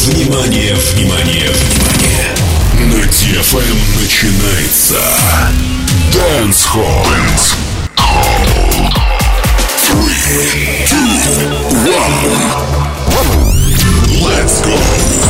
Внимание, внимание, внимание! На DFM начинается Dance Hall. 3, 2, 1. Let's go!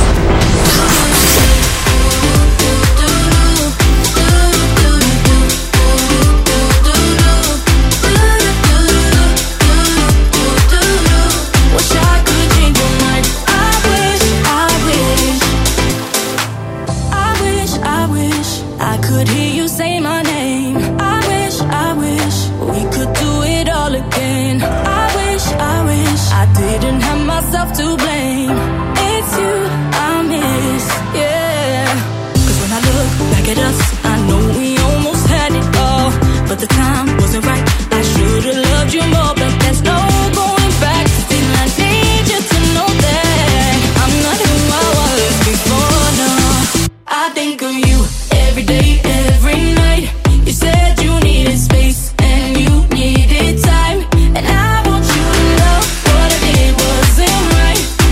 To blame, it's you I miss, yeah. 'Cause when I look back at us, I know we almost had it all, but the time wasn't right. I should've loved you more, but there's no going back. Still I need you to know that I'm not who I was before, no. I think of you every day, every night. You said you needed space and you needed time, and I want you to know what I did wasn't right.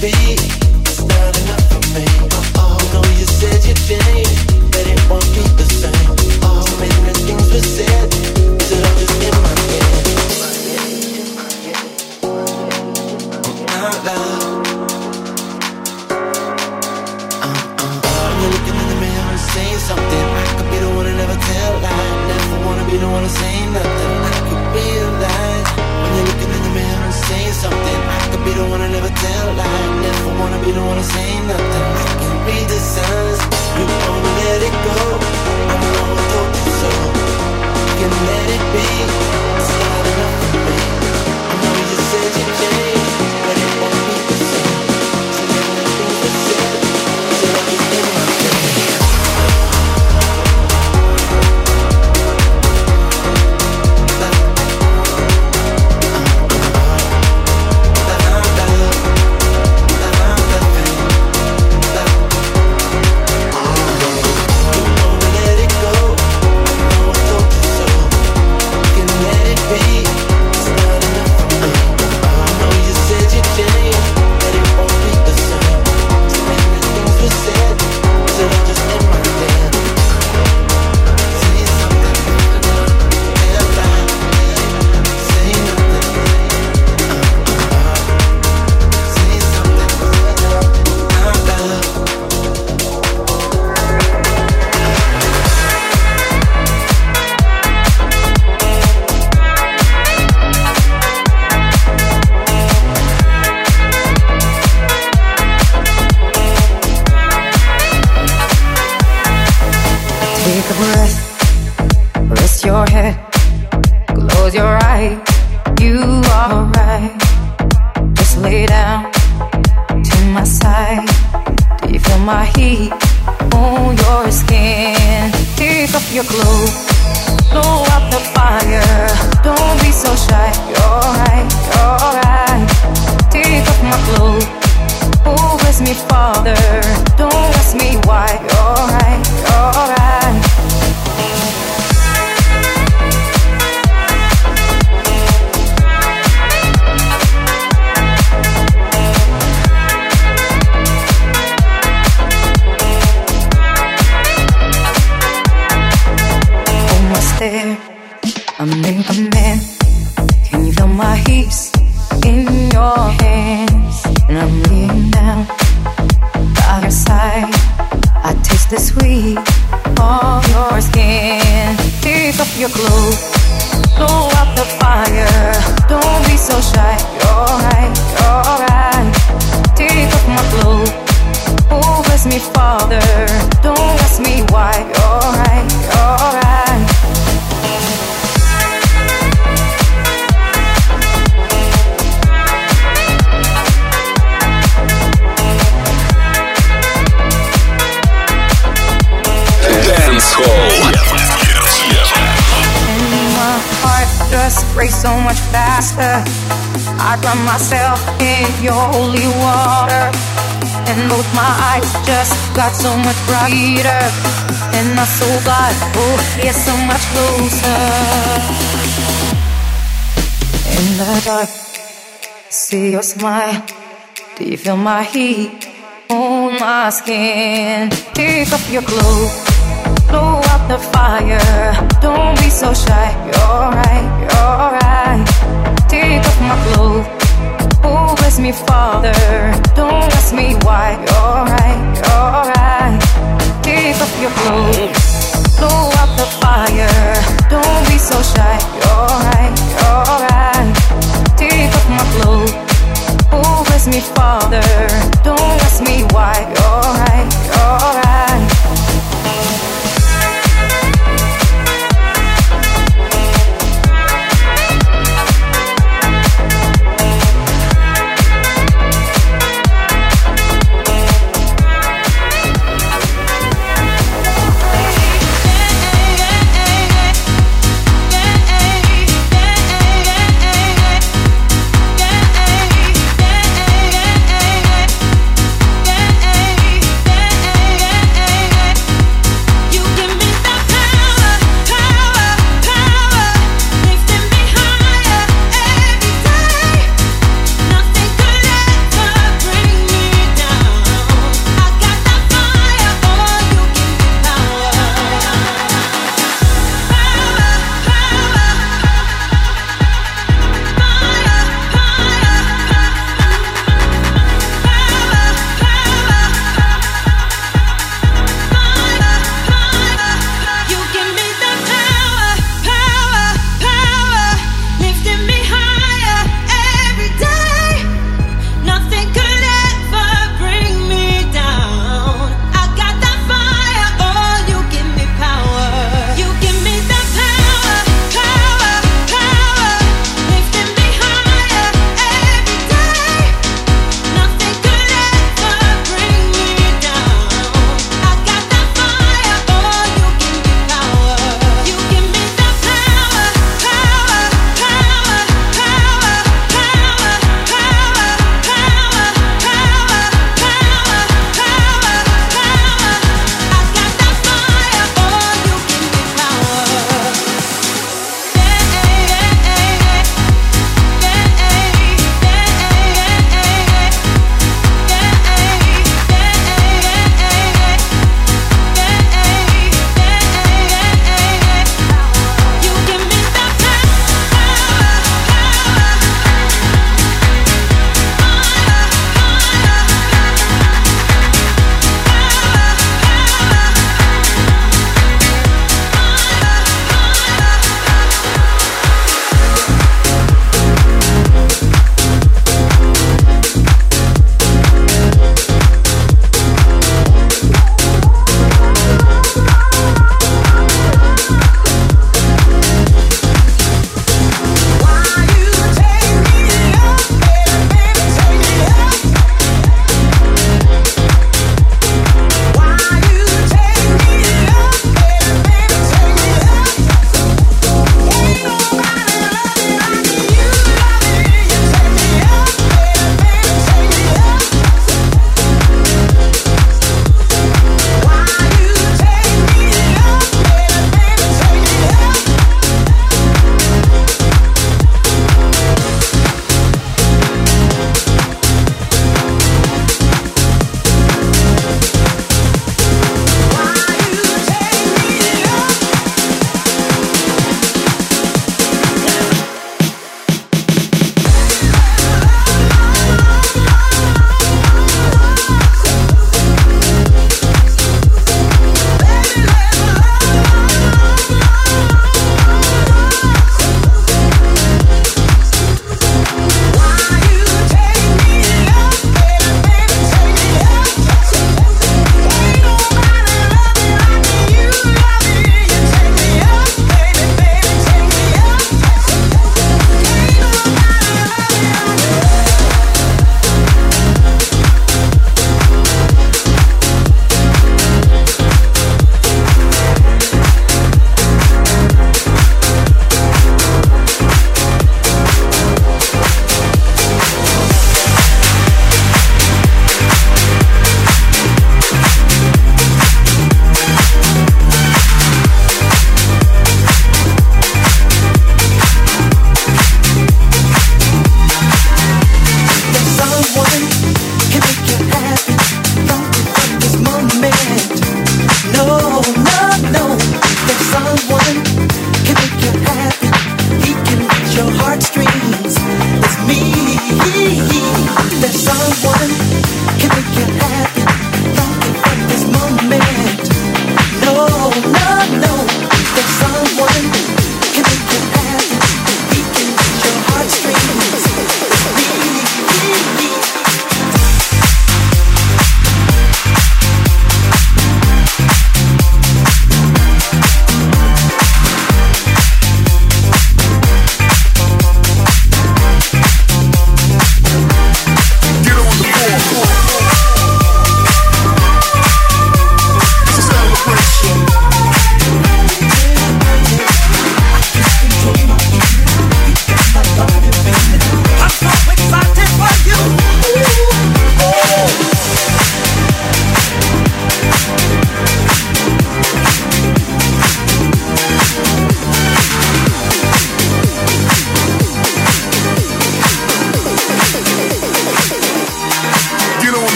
See your smile, do you feel my heat on my skin? Take off your clothes, blow out the fire. Don't be so shy, you're right, you're right. Take off my clothes, oh bless me Father. Don't ask me why, you're right, you're right. Take off your clothes, blow out the fire. Don't be so shy, you're right, you're right. Take off my clothes, oh bless me Father. Don't ask me why, you're right, you're right.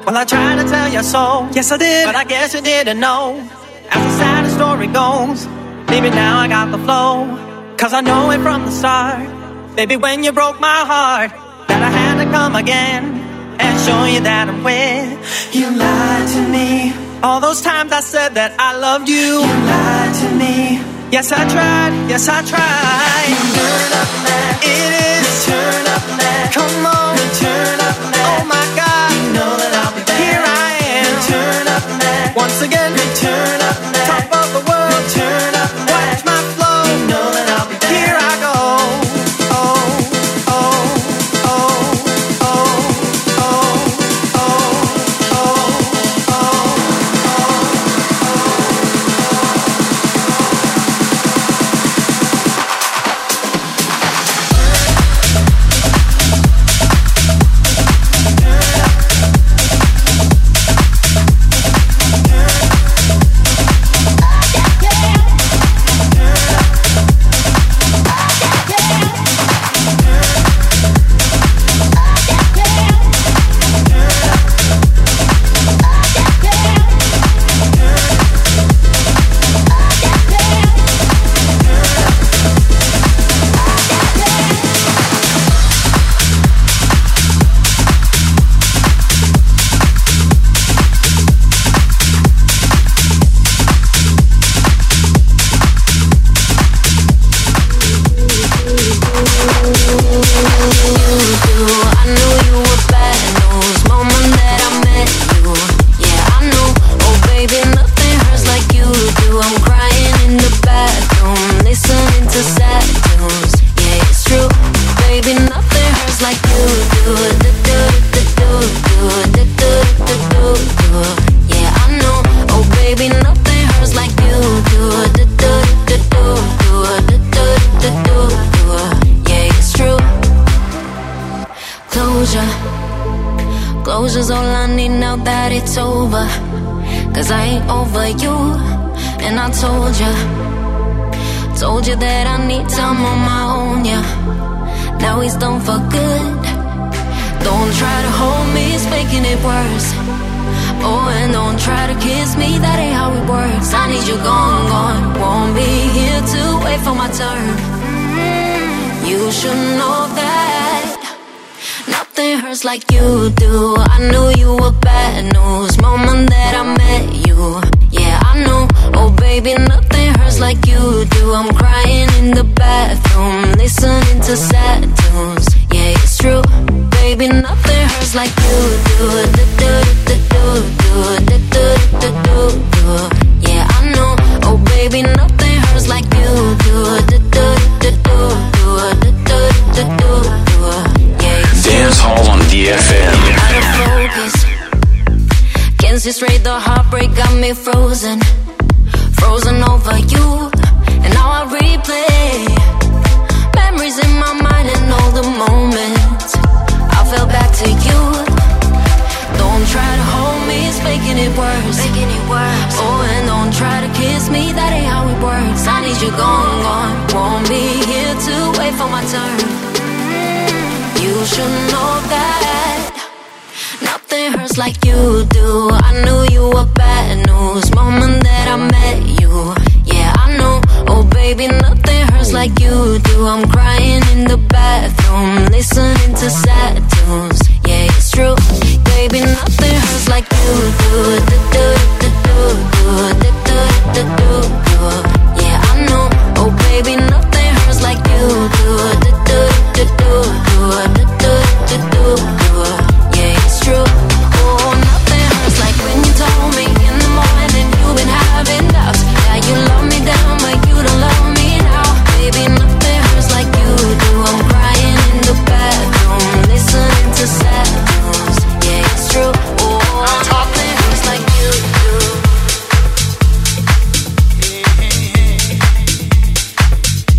Well, I tried to tell you so. Yes, I did, but I guess you didn't know. As the sad story goes, maybe now I got the flow. Cause I know it from the start. Baby, when you broke my heart, that I had to come again and show you that I'm with. You lied to me. All those times I said that I loved you. You lied to me. Yes, I tried. Yes, I tried. Turn up now. It is. Turn up now. Come on. Turn up now. Oh my God. You know that I'll be back. Here I am. Turn up now. Once again. Turn up now. Top of the world. Turn up now. Watch my flow. You know that I'll be back. Here I go. Closure's all I need now that it's over. Cause I ain't over you. And I told you that I need time on my own, yeah. Now he's done for good. Don't try to hold me, it's making it worse. Oh, and don't try to kiss me, that ain't how it works. I need you gone, gone. Won't be here to wait for my turn. You should know that nothing hurts like you do. I knew you were bad news moment that I met you. Yeah, I know. Oh baby, nothing hurts like you do. I'm crying in the bathroom, listening to sad tunes. Yeah, it's true. Baby, nothing hurts like you do. Yeah, I know. Oh baby, nothing hurts like you do. Dance Hall on DFM. Out of focus. Can't see straight, the heartbreak got me frozen. Frozen over you. And now I replay memories in my mind and all the moments I fell back to you. Don't try to hold me, it's making it worse. Oh, and don't try to kiss me, that ain't how it works. I need you gone, gone. Won't be here to wait for my turn. You should know that nothing hurts like you do. I knew you were bad news moment that I met you. Yeah, I know. Oh baby, nothing hurts like you do. I'm crying in the bathroom, listening to sad tunes. Yeah, it's true. Baby, nothing hurts like you do. Yeah, I know. Oh baby, nothing hurts like you do. Yeah, it's true. Oh, nothing hurts like when you told me in the morning you've been having doubts. Yeah, you love me down, but you don't love me now. Baby, nothing hurts like you do. I'm crying in the bathroom, listening to sad tunes. Yeah, it's true. Oh, nothing hurts like you do.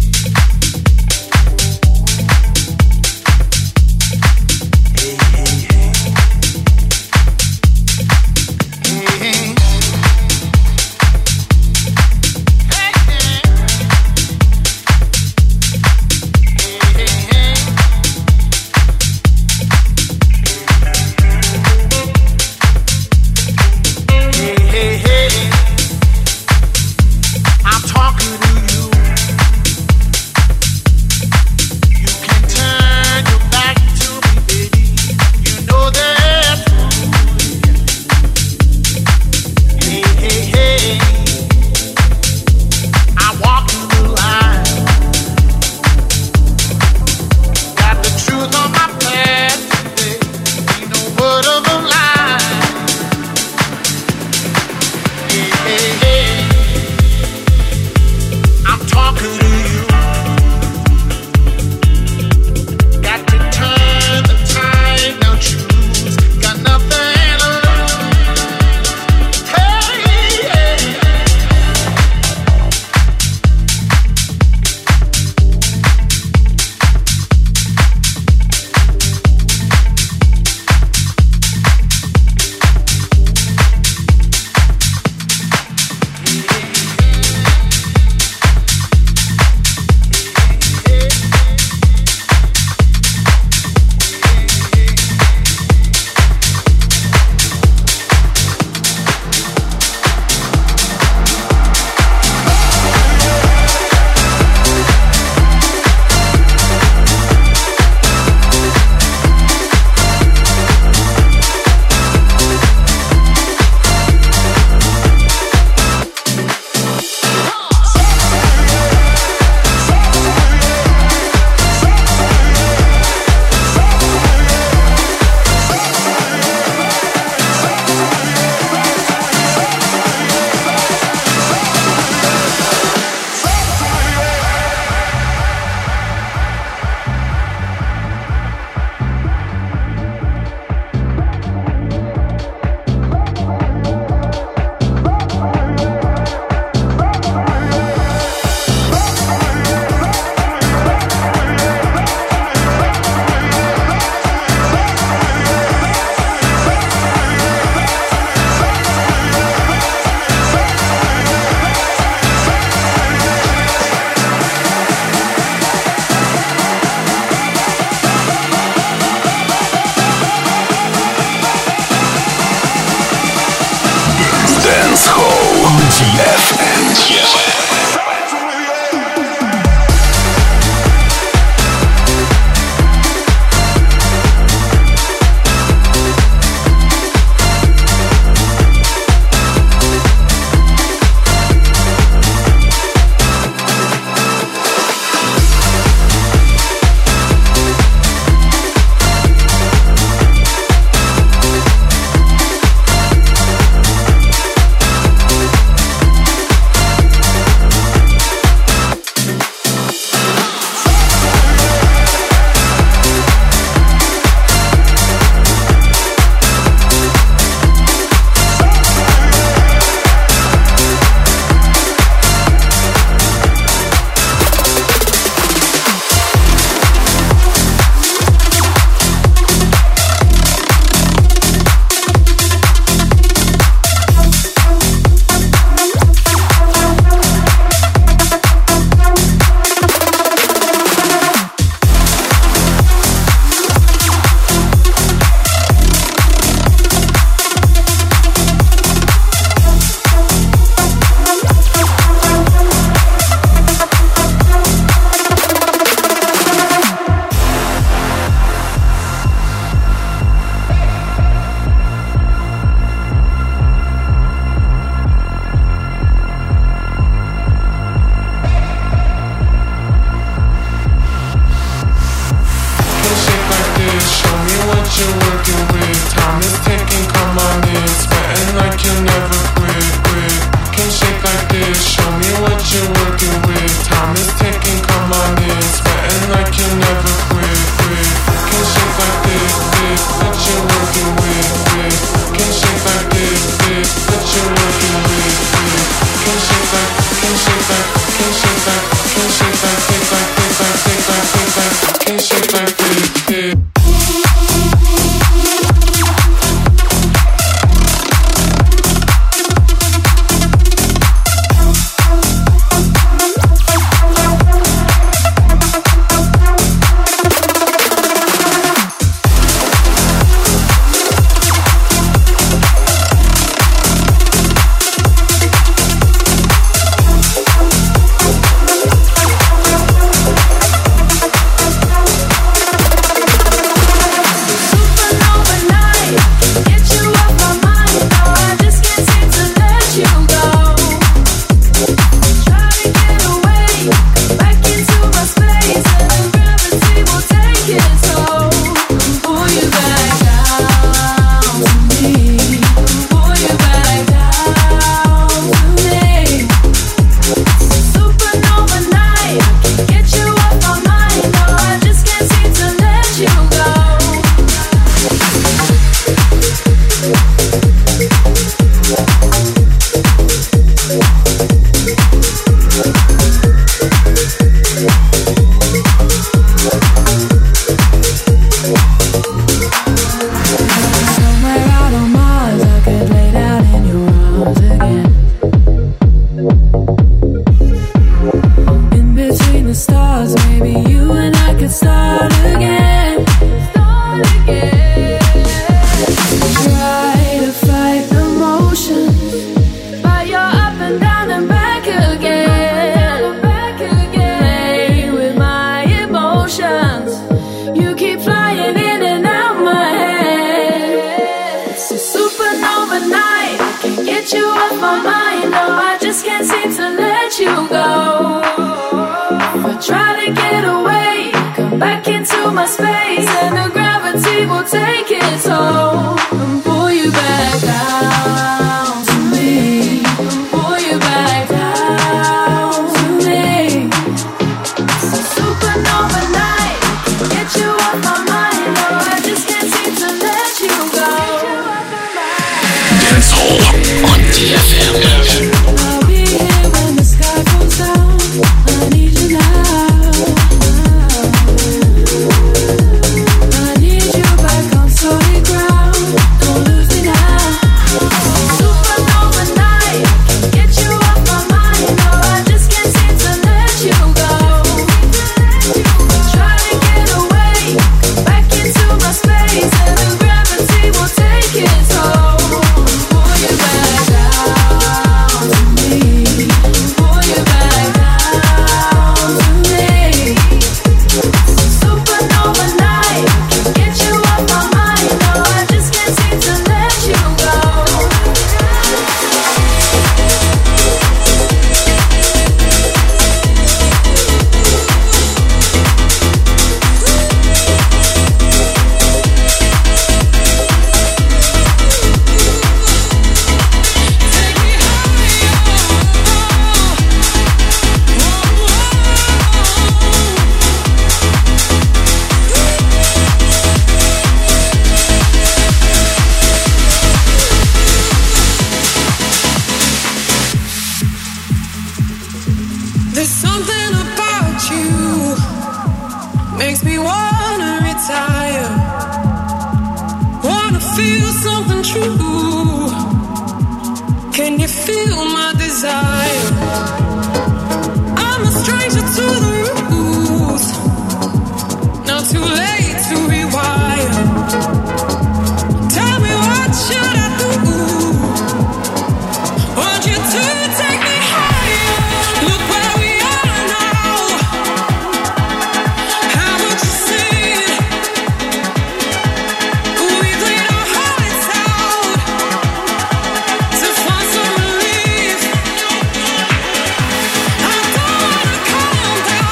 I don't wanna calm down.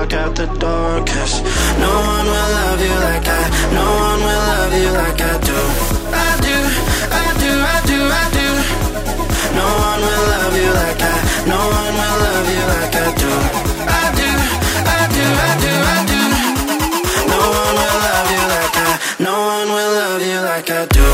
walk out the door. 'Cause no one will love you like no one will love you like I do. I do, I do, I do, I do. No one will love you like no one will love you like I do. I do, I do, I do, I do. No one will love you like no one will love you like I do.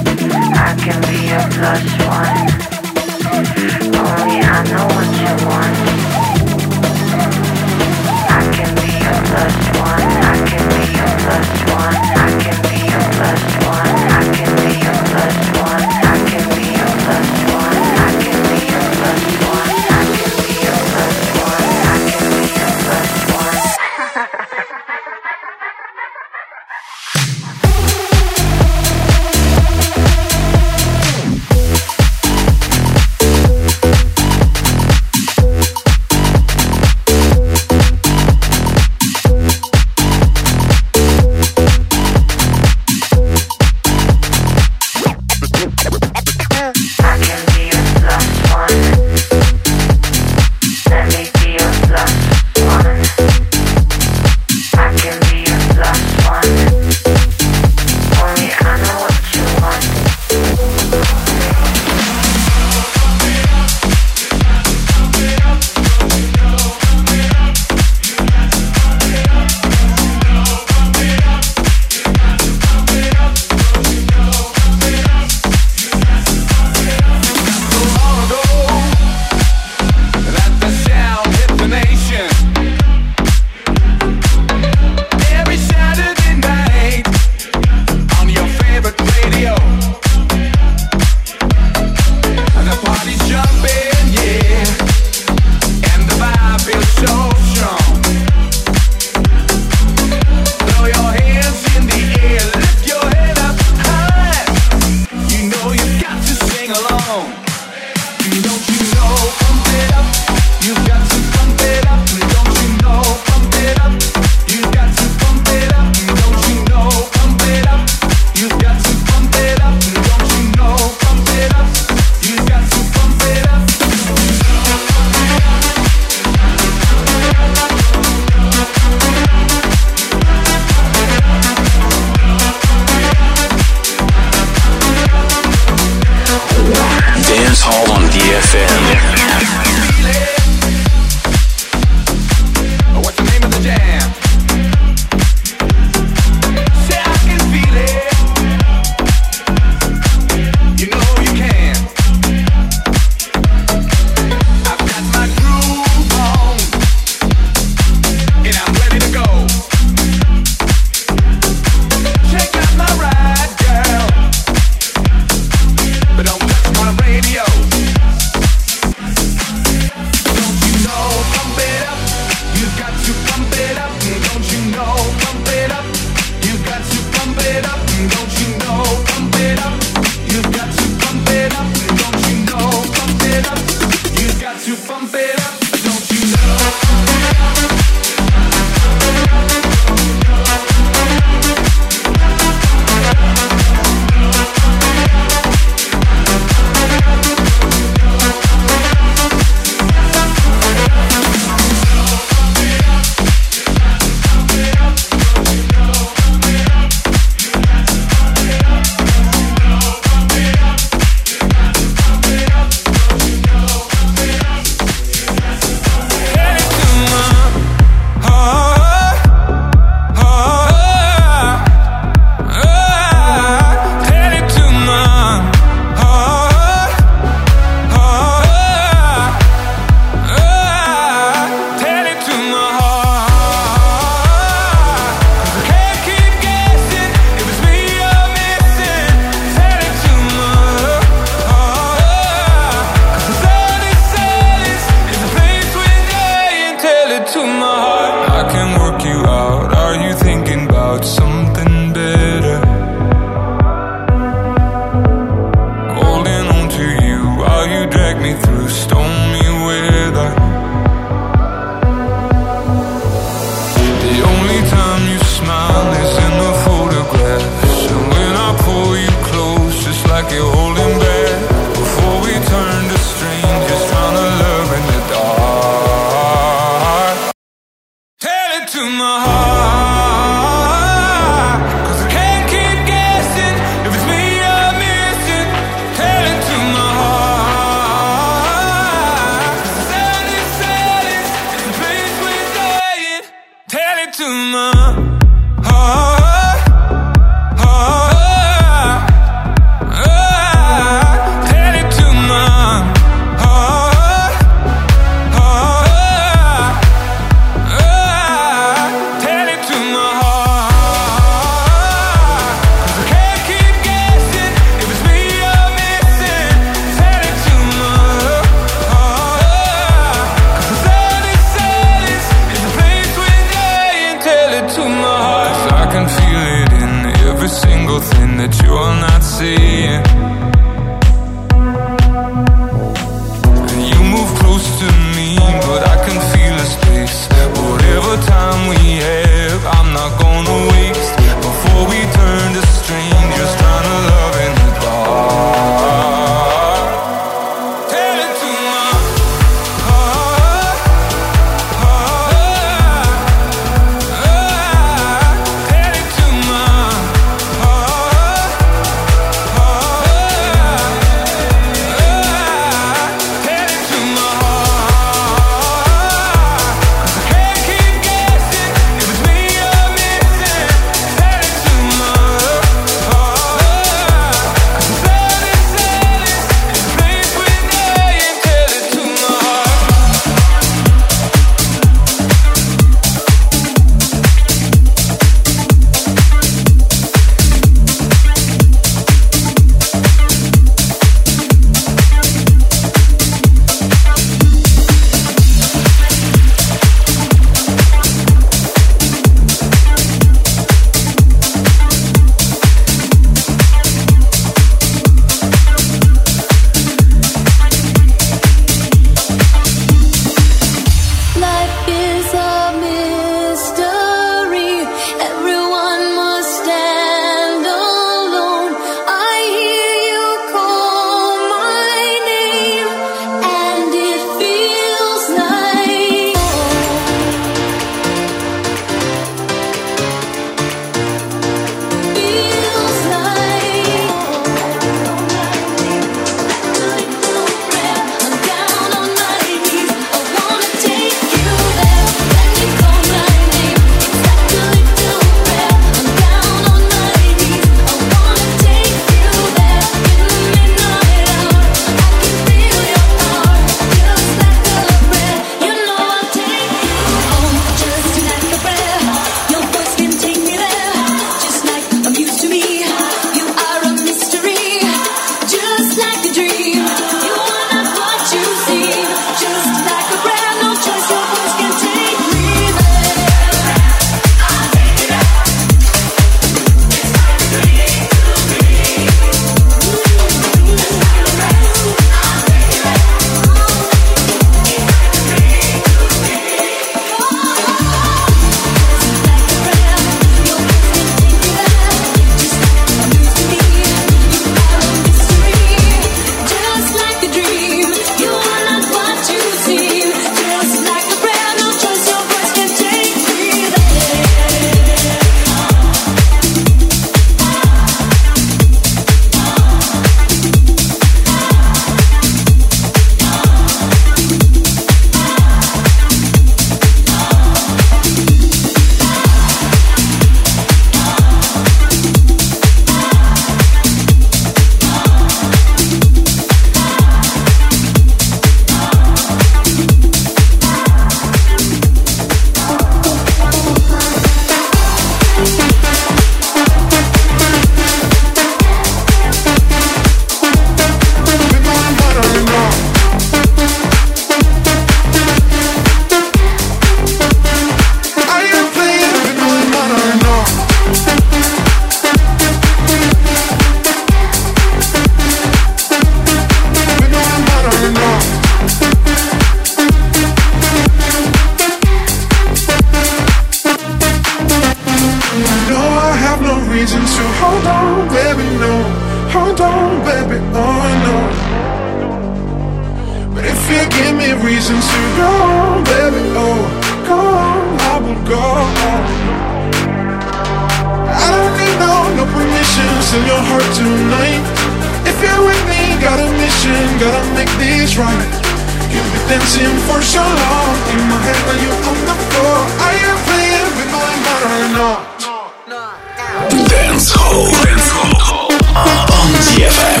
right. You've been dancing for so long. In my head when you're on the floor. Are you playing with my mind or not? Dance Hall on DFM.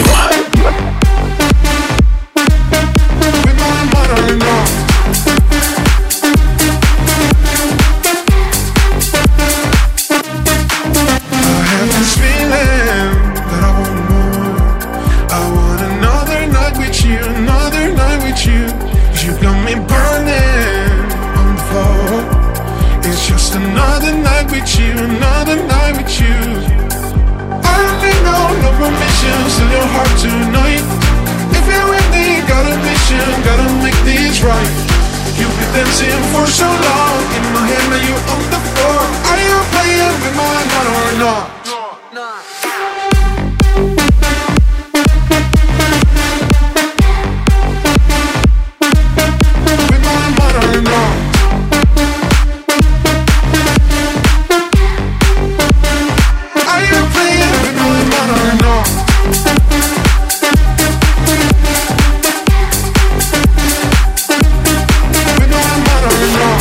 With my mind or not? I have this feeling that I want more. I want another night with you, another night with you. 'Cause you got me burning on the floor. It's just another night with you, another night with you. I don't need no permissions in your heart tonight. If you're with me, got a mission, gotta make this right. You've been dancing for so long. In my head, now you're on the floor. Are you playing with my mind or not? With my mind or not? Are you playing with my mind or not? With my mind or not?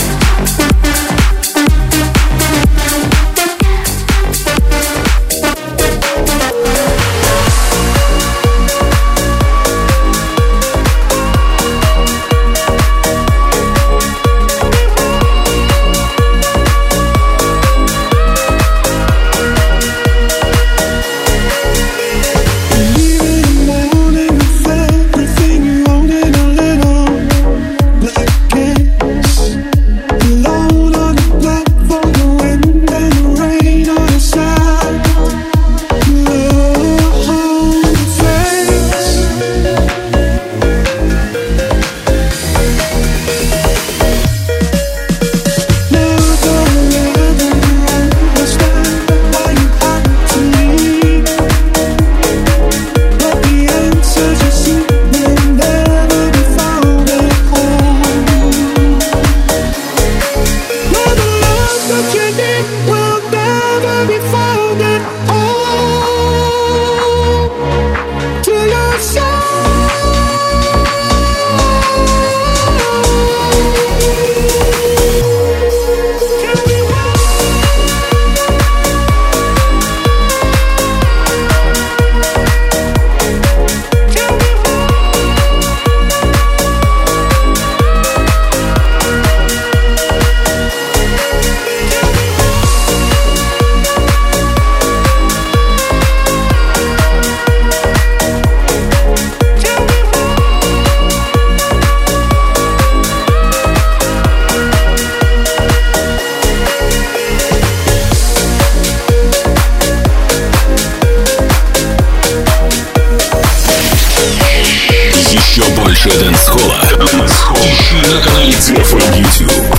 Больше дэнс-холла ищи на канале DFM YouTube.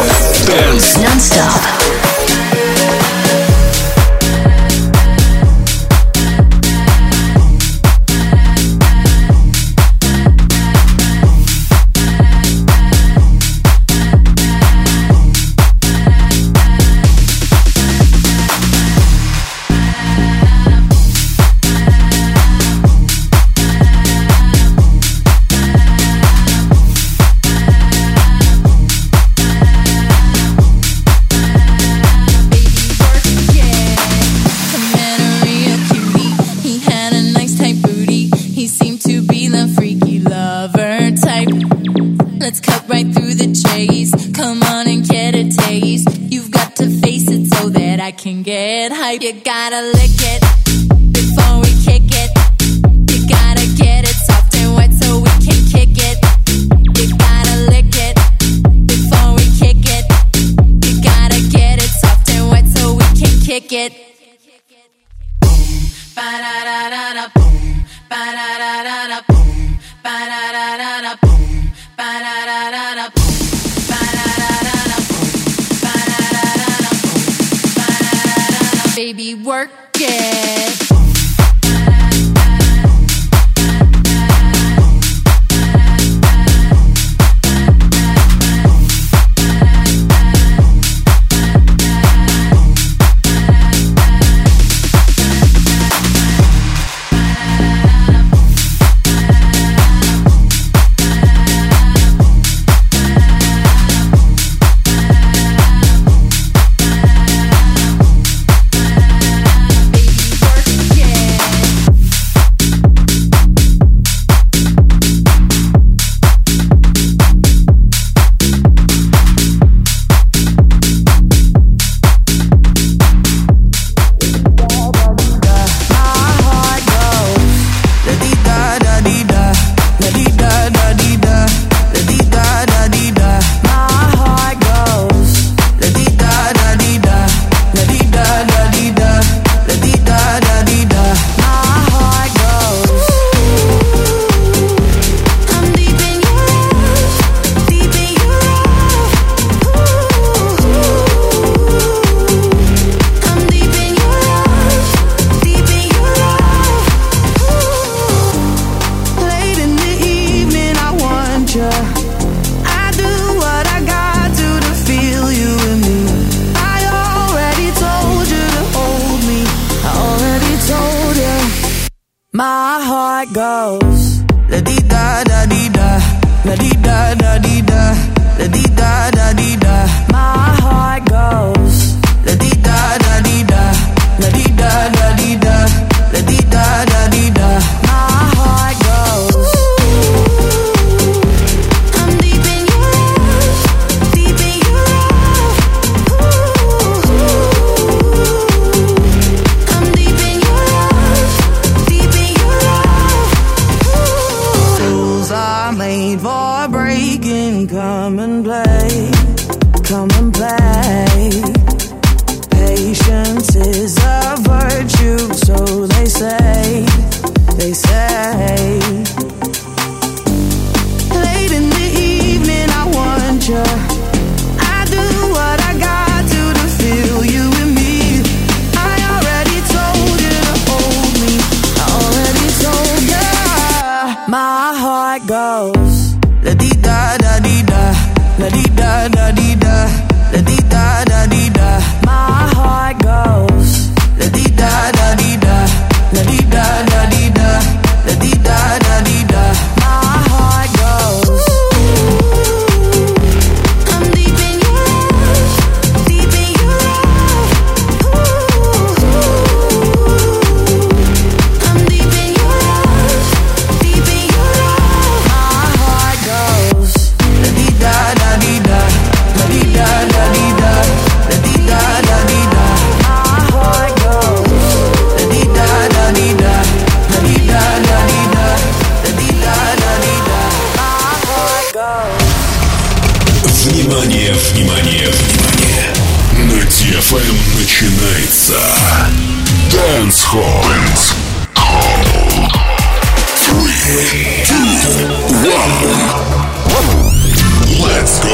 Dance Non-Stop. You gotta lick it before we kick it. You gotta get it soft and wet so we can kick it. You gotta lick it before we kick it. You gotta get it soft and wet so we can kick it. Boom, ba da da da da, boom, ba da da da da, boom, ba da da da da, boom, ba da da da da, boom. Baby, work it. My heart goes la di da da di da, la di da da di da, la di da da di da. My heart goes la di da da di da, la di da da di da, la di da da di da. My heart goes. I'm deep in your love, deep in your love. I'm deep in your love, deep in your love. Rules are made for breaking. Come and play, come and play. Patience is a virtue, so they say, they say. Late in the evening, I want you. I do what I got to feel you and me. I already told you to hold me. I already told you. My heart goes la di da da di da, la di da da di da, la di da da di da. My heart goes la di da da di da, la di da da di da, la di da da di da. My heart goes. I'm deep in your love, deep in your love. I'm deep in your love, deep in your love. My heart goes la di da da di da, la di da da di da, la di da da di da. My heart goes la di da da di da, la di da da di da, la di da da di da. My heart goes. Внимание, внимание, внимание! На DFM начинается Dance Hall. 3, 2, 1. Let's go!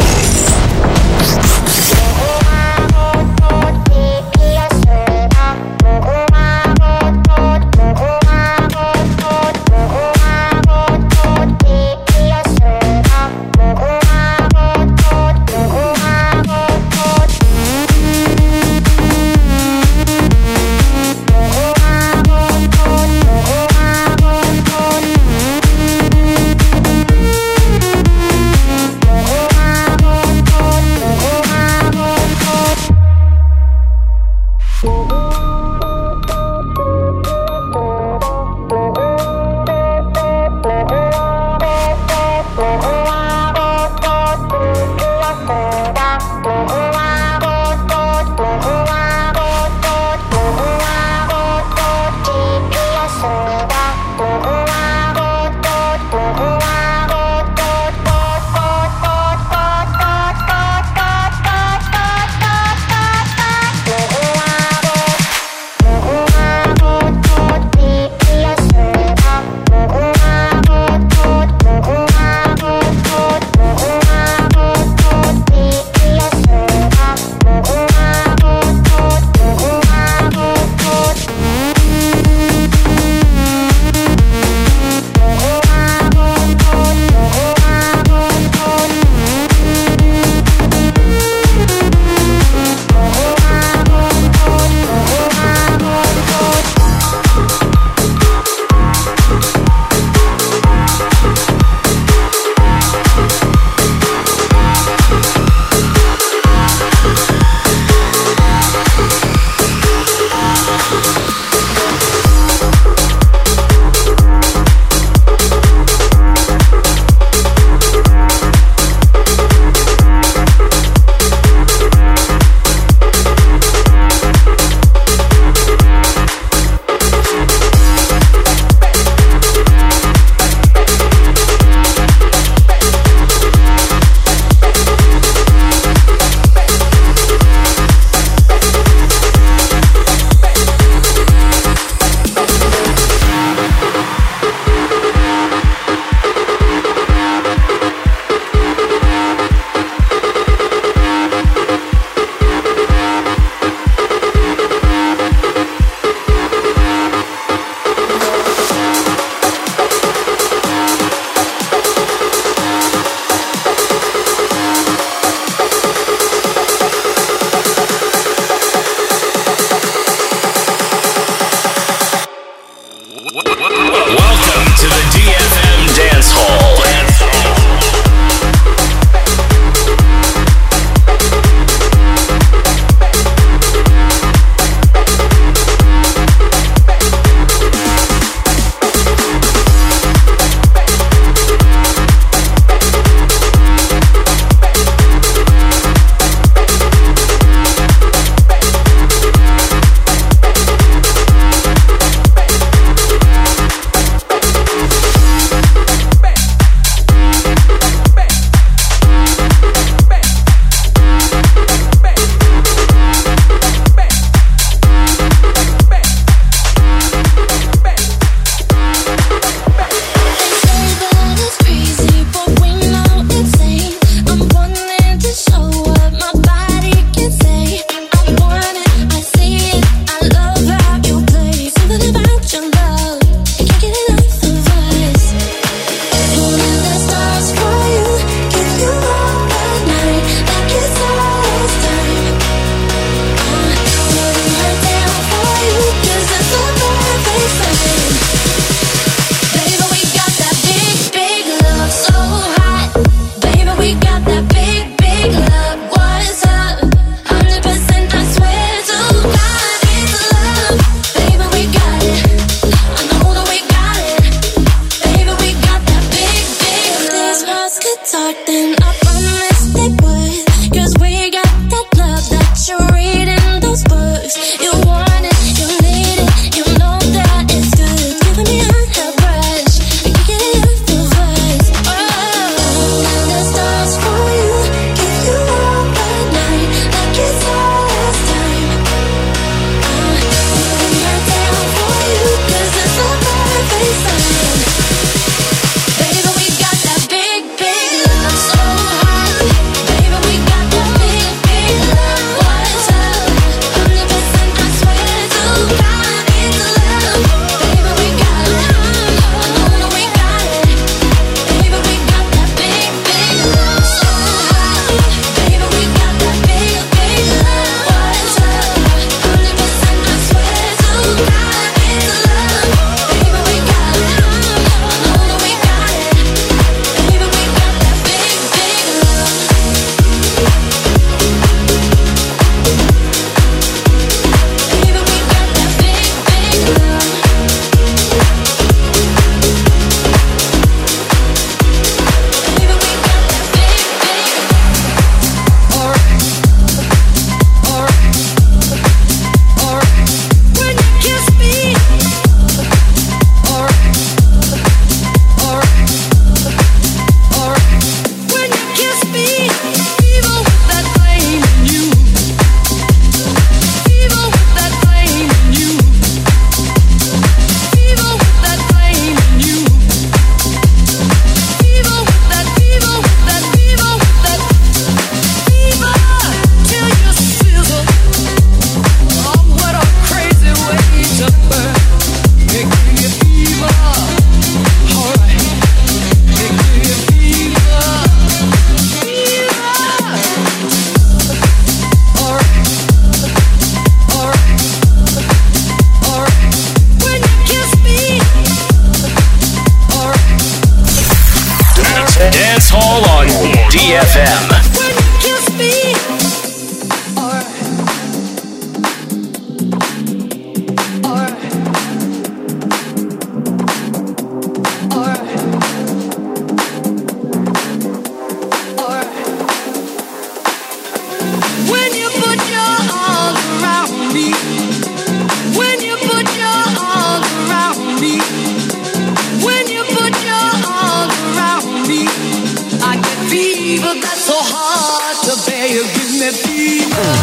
that fever.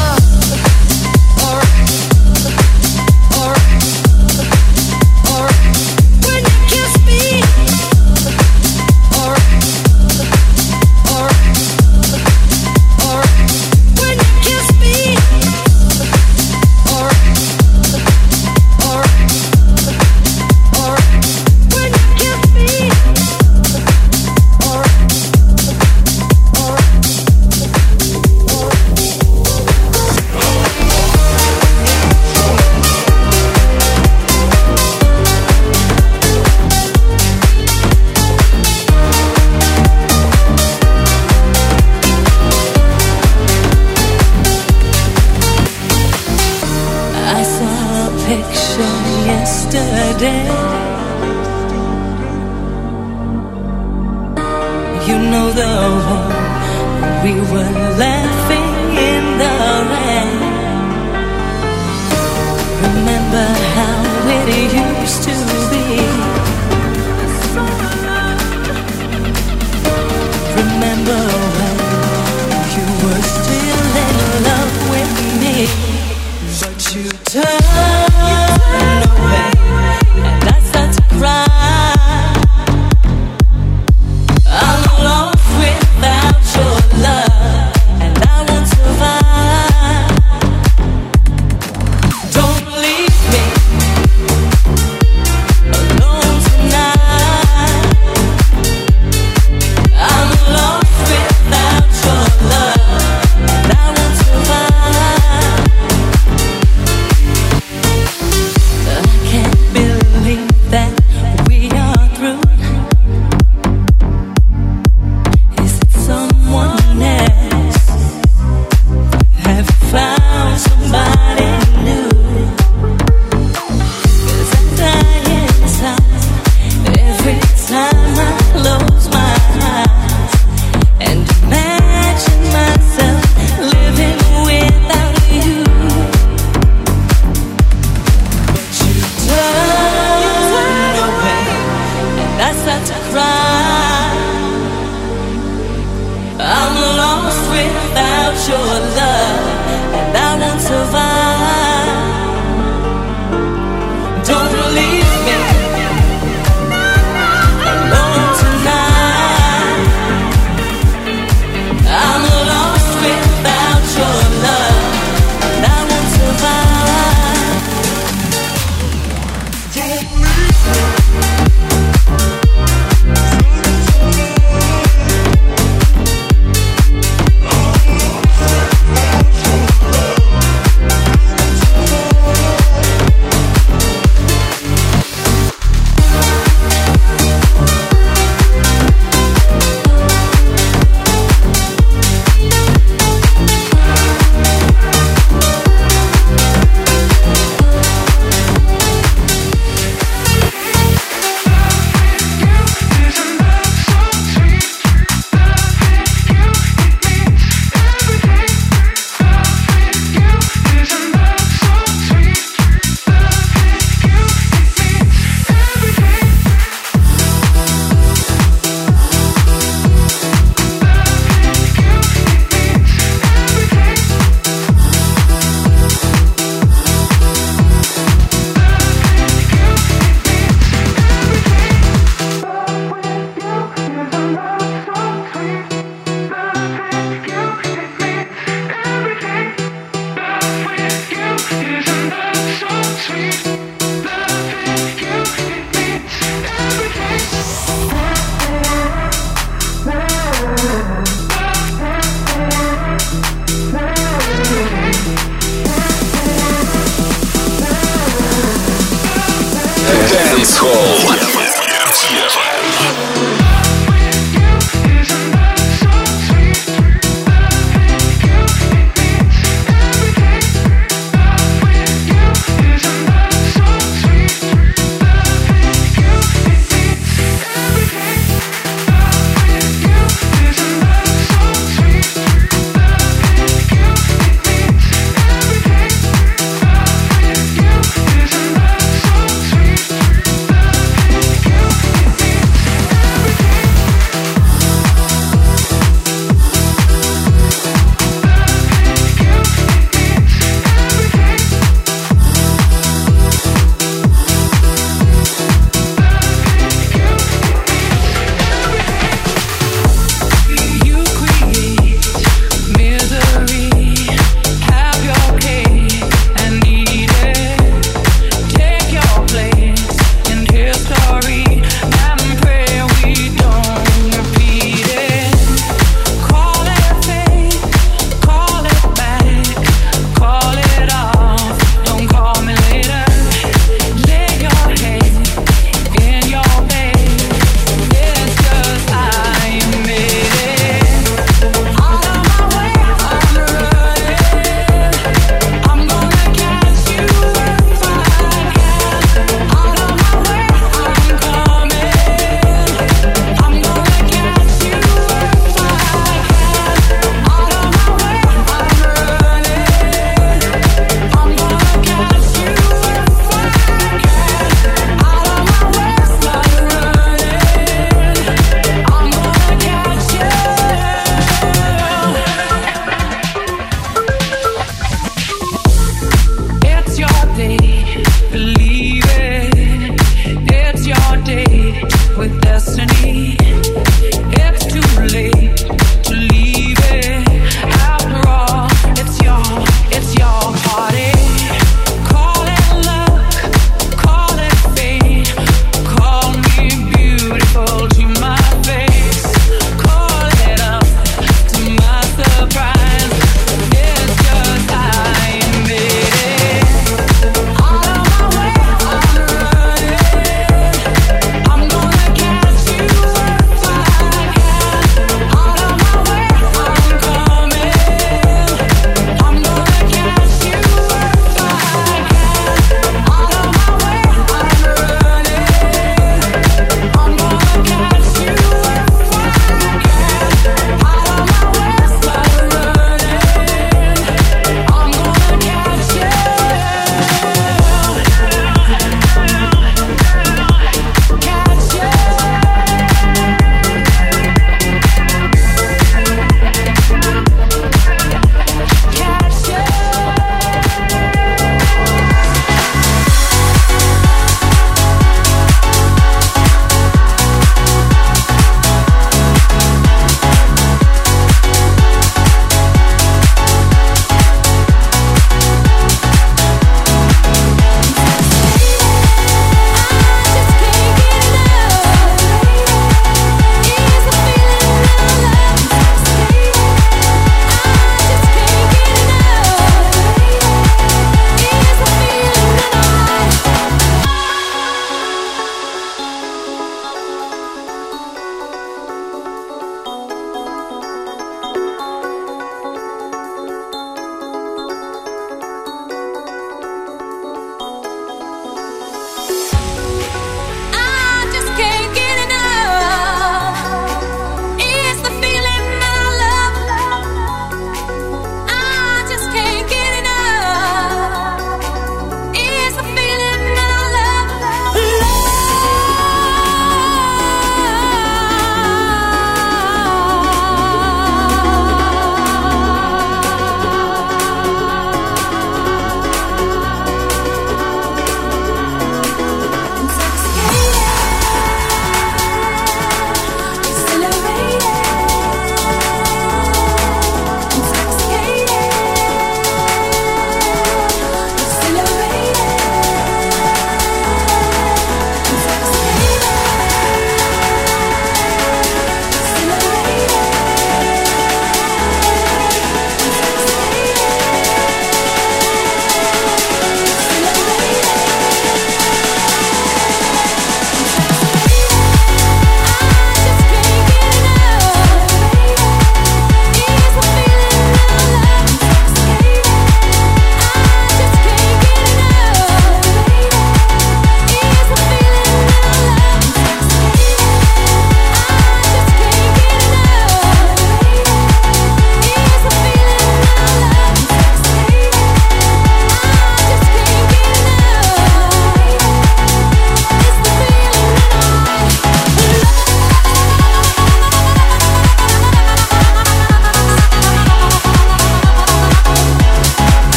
When you kiss me, when you kiss me, yesterday. You know the one we were laughing in the rain. Remember how it used to be. Remember when you were still in love with me, but you turned away and I start to cry. I'm lost without your love, and I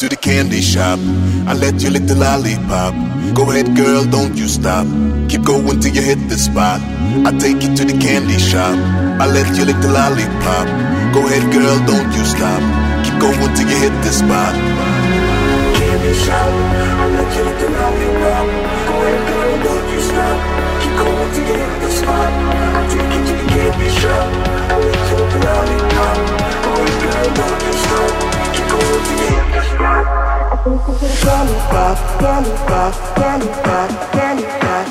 to the candy shop. I let you lick the lollipop. Go ahead, girl, don't you stop. Keep going till you hit the spot. I take you to the candy shop. I let you lick the lollipop. Go ahead, girl, don't you stop. Keep going till you hit the spot. Candy shop. I let you lick the lollipop. Go ahead, girl, don't you stop. Keep going till you hit the spot. I take you to the candy shop. I let you lick the lollipop. Go ahead, girl, don't you stop. Keep going till you hit the spot. Lollipop, lollipop, lollipop, lollipop,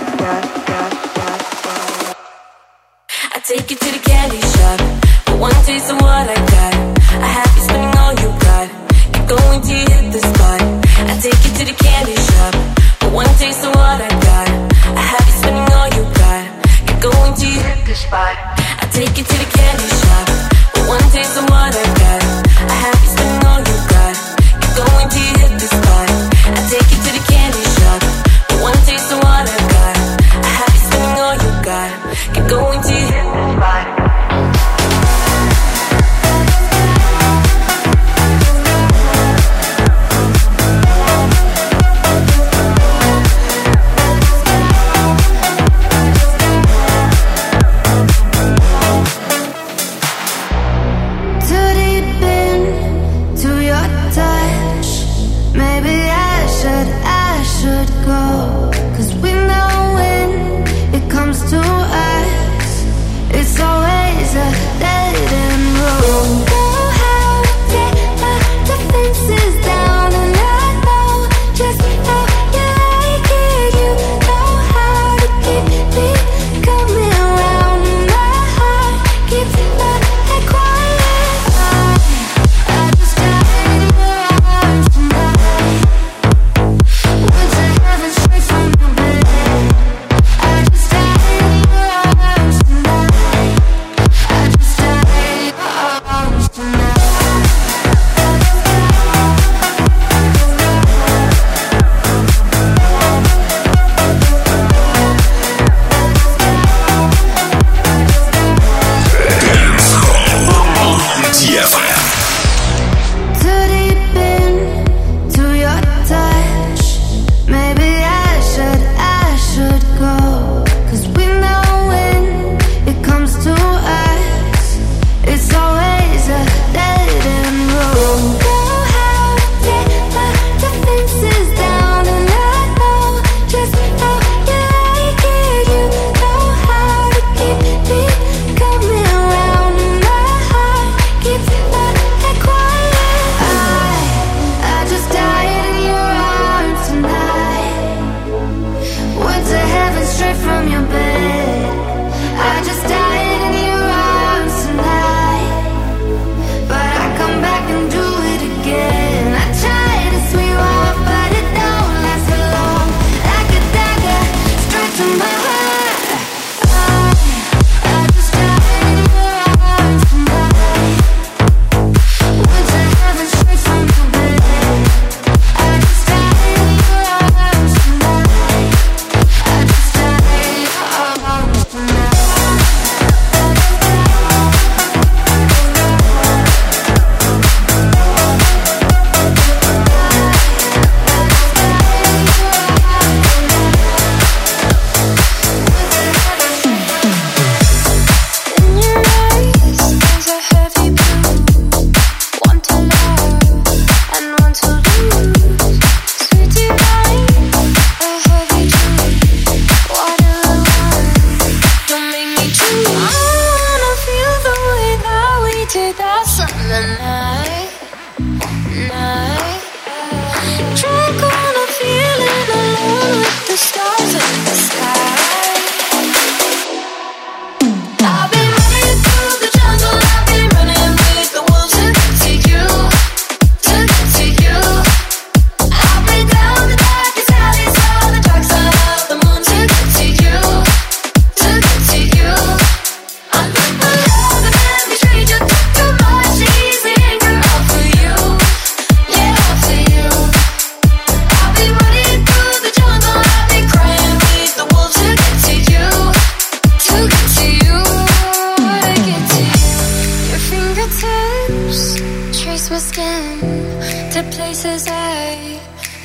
I take you to the candy shop. For one taste of what I got, I have you spending all you got. Keep going till you hit the spot. I take you to the candy shop. For one taste of what I got, I have you spending all you got. Keep going till you hit the spot. I take you to the candy shop. For one taste of what I got, I have you spending all you got. Keep going till you hit the spot. I take you to the candy shop. For one taste of what I got, I have you spending all you got. Keep going till you hit the spot.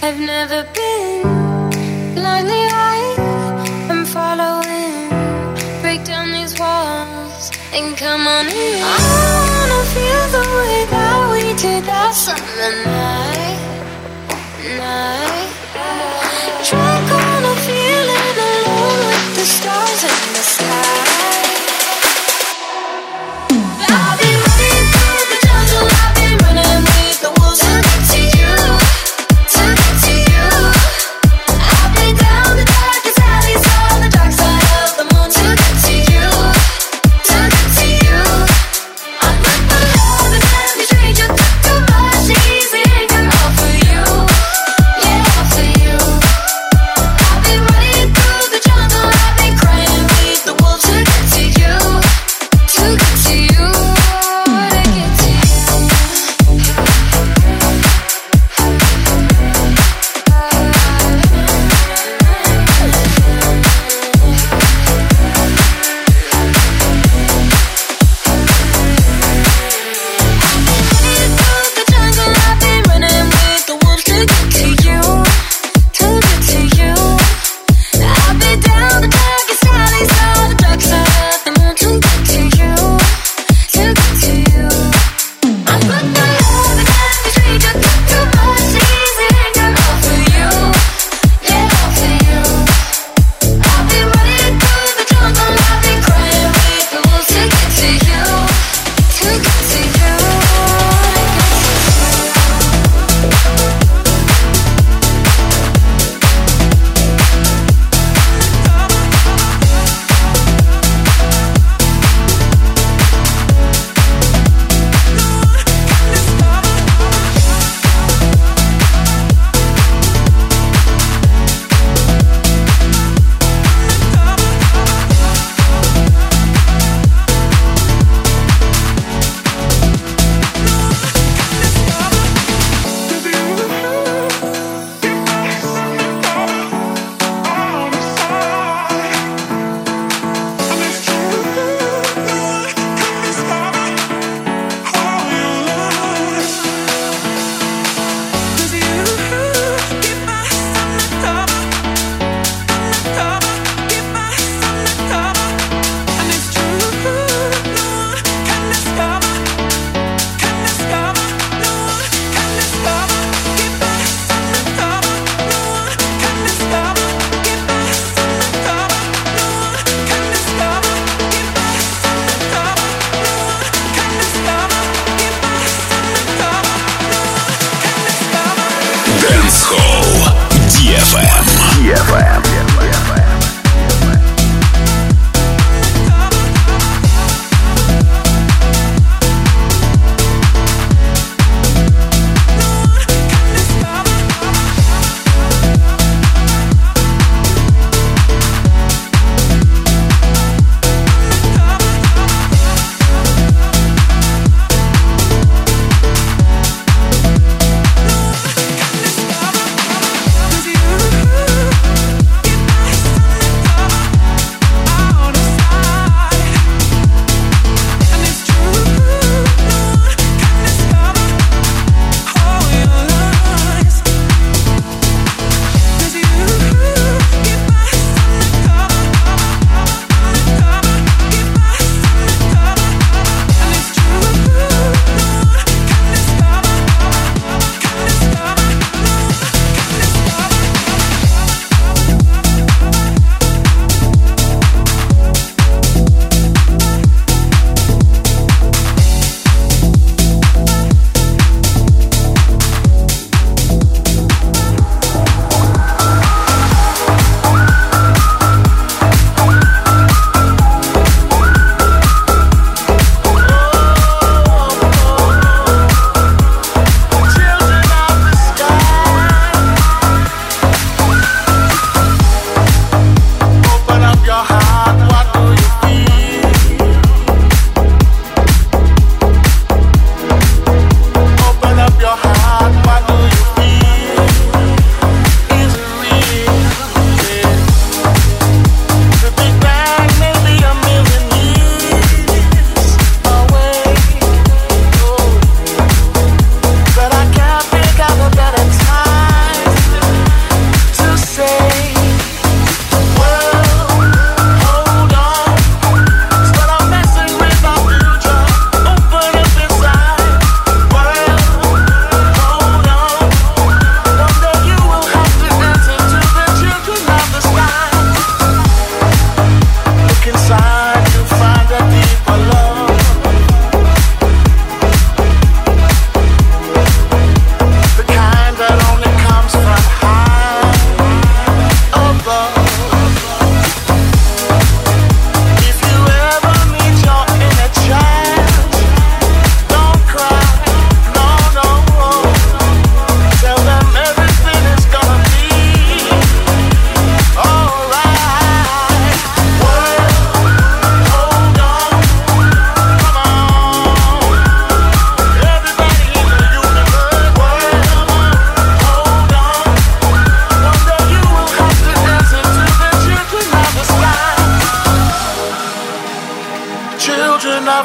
I've never been blindly eyed. I'm following. Break down these walls and come on in. I wanna feel the way that we did that summer night. Drunk on a feeling alone with the stars in the sky. I've been running through the jungle, I've been running with the wolves to get to you, to get to you. I've been down the darkest alleys on the dark side of the moon to get to you, to get to you. I'm not the love and every stranger took too much easy and all for you. Yeah.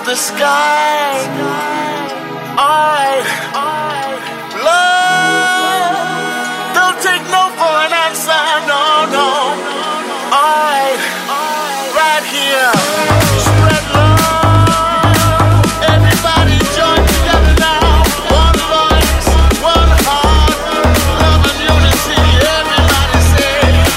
of the sky. Alright, love, don't take no for an answer, no, no. Alright, right here, spread love. Everybody join together now. One voice, one heart, love and unity. Everybody say.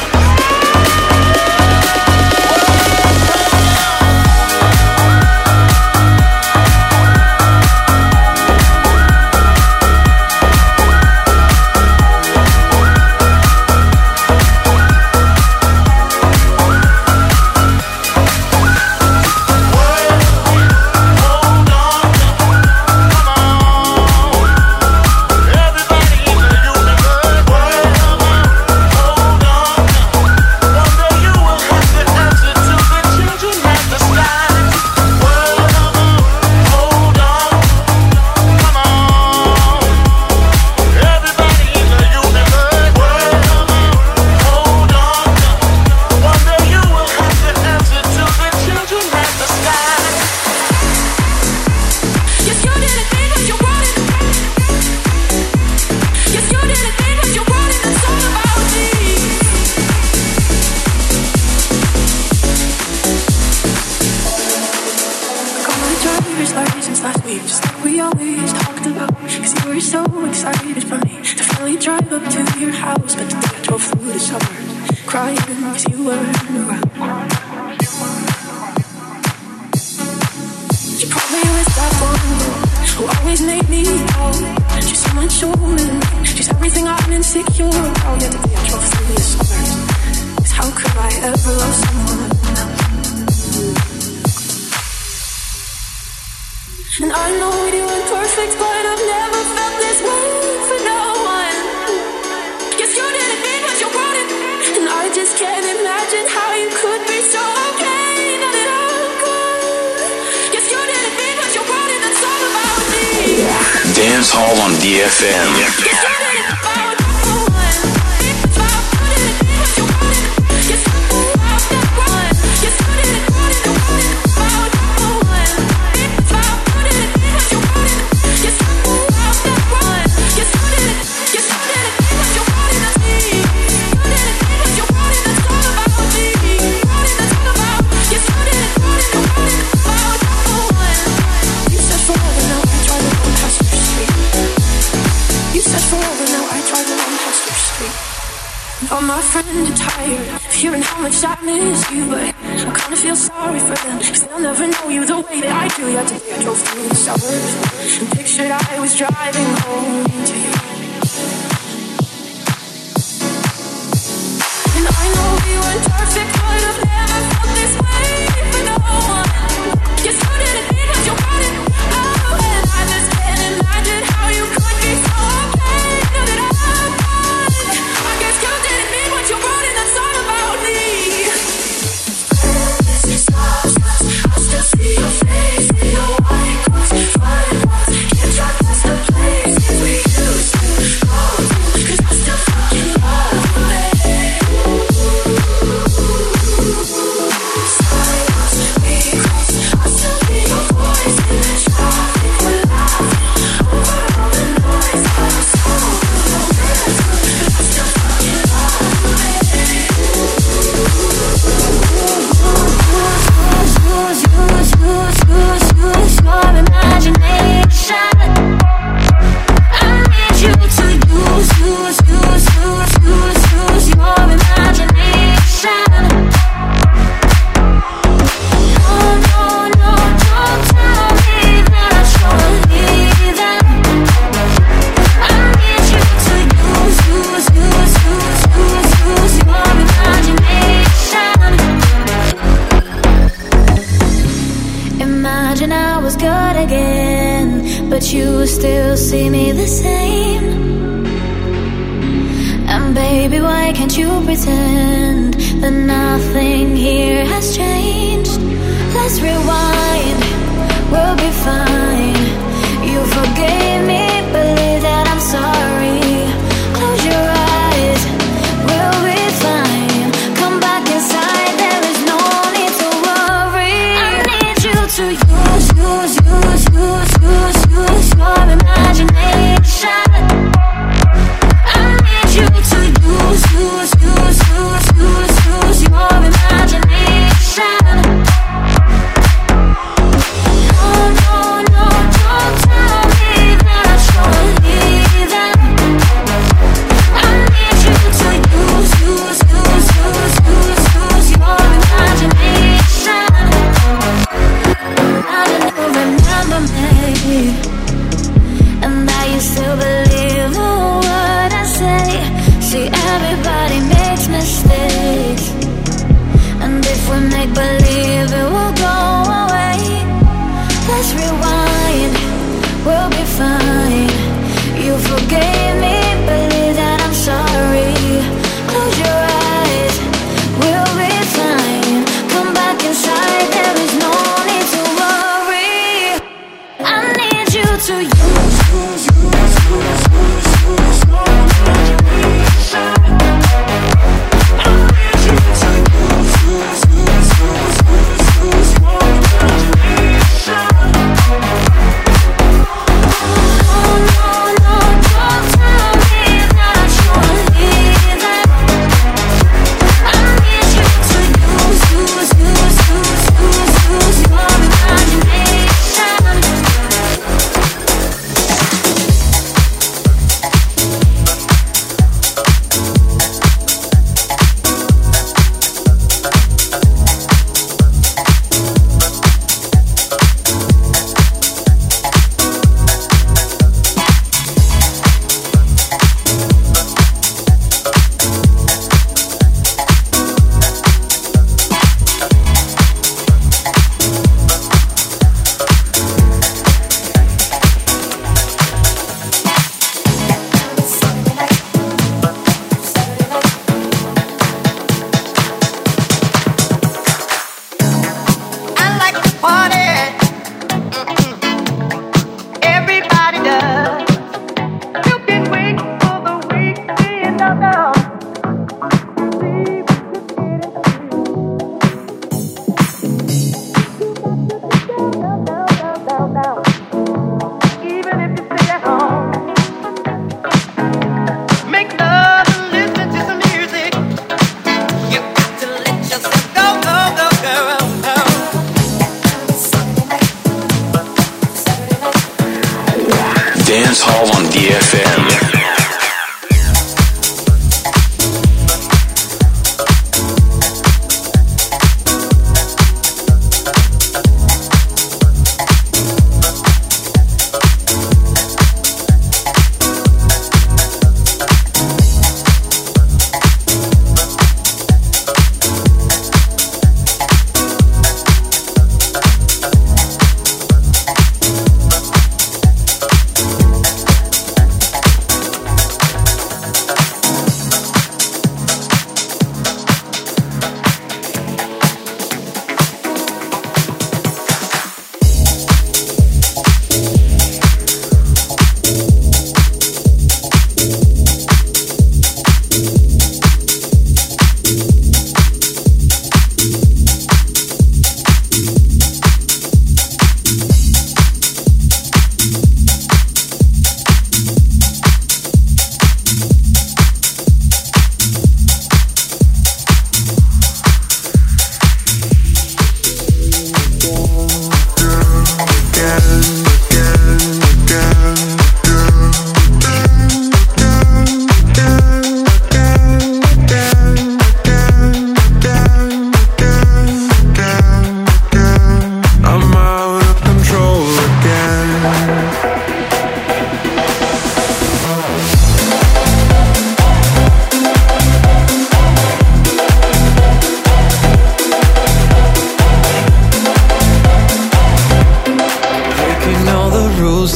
Dance Hall on DFM. All my friends are tired of hearing how much I miss you, but I kinda feel sorry for them, cause they'll never know you the way that I do. Yeah, today I drove through the suburbs and pictured I was driving home to you. And I know we weren't perfect, but I've never felt this way for no one. Yes, you didn't mean what you wanted. Oh, and I just can't imagine how you could be so okay. Now that I'm gone, I guess you didn't mean what you wrote, and that's all about me. I still see your face in your white clothes, fine walls. Can't drive past the place we used to go to, 'cause I still fucking love the way. Silence, we close. I still hear your voice in the traffic. We're laughing over all the noise. I'm so good, but I still fucking love the way. Use your imagination. I need you to use your imagination. No, don't tell me that you're leaving. I need you to use your imagination. Imagine I was good again, but you still see me the same. And baby, why can't you pretend that nothing here has changed? Let's rewind, we'll be fine. You forgave me, believe that I'm sorry. Close your eyes, we'll be fine. Come back inside, there is no need to worry. I need you to use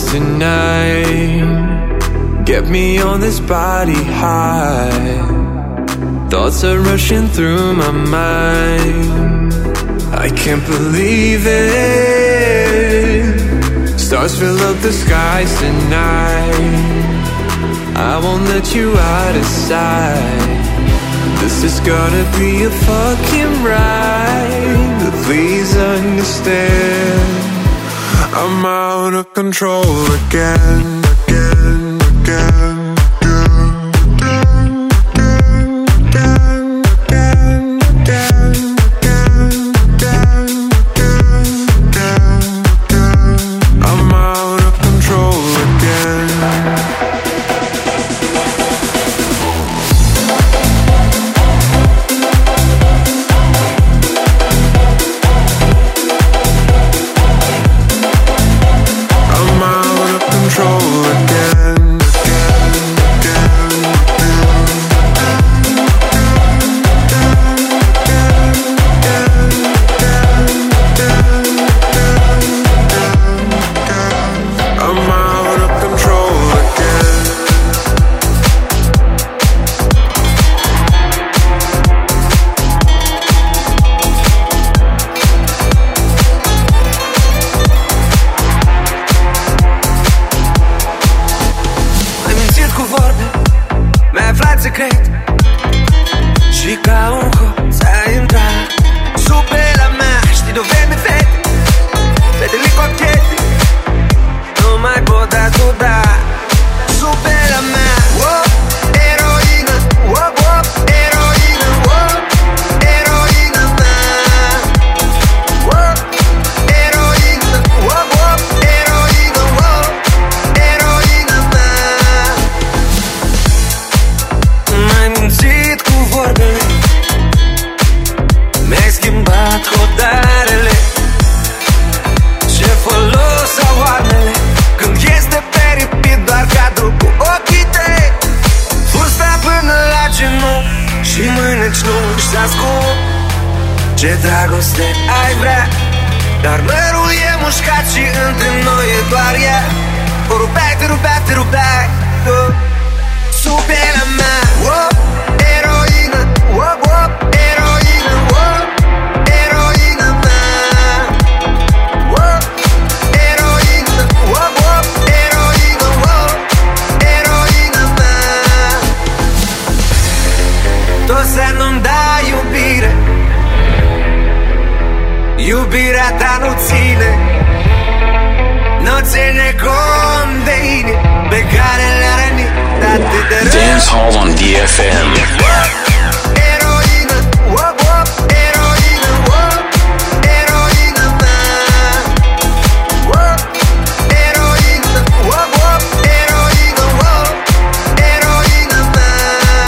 tonight. Get me on this body high. Thoughts are rushing through my mind. I can't believe it. Stars fill up the skies tonight. I won't let you out of sight. This is gonna be a fucking ride. But please understand, I'm out of control again, again, again. Ce dragoste ai vrea, dar mărul e mușcat și între noi e doar ea. O rupeai, te rupeai, te rupeai, sub pielea mea. Eroină, eroină, eroină mea. Eroină, eroină, eroină mea. Tot să nu-mi dai iubire, iubirea ta nu ține, nu ține cont de inimi pe care le-a rănit atât de rău. Dance Hall on DFM. Eroină, eroină, eroină mea. Eroină, eroină, eroină mea.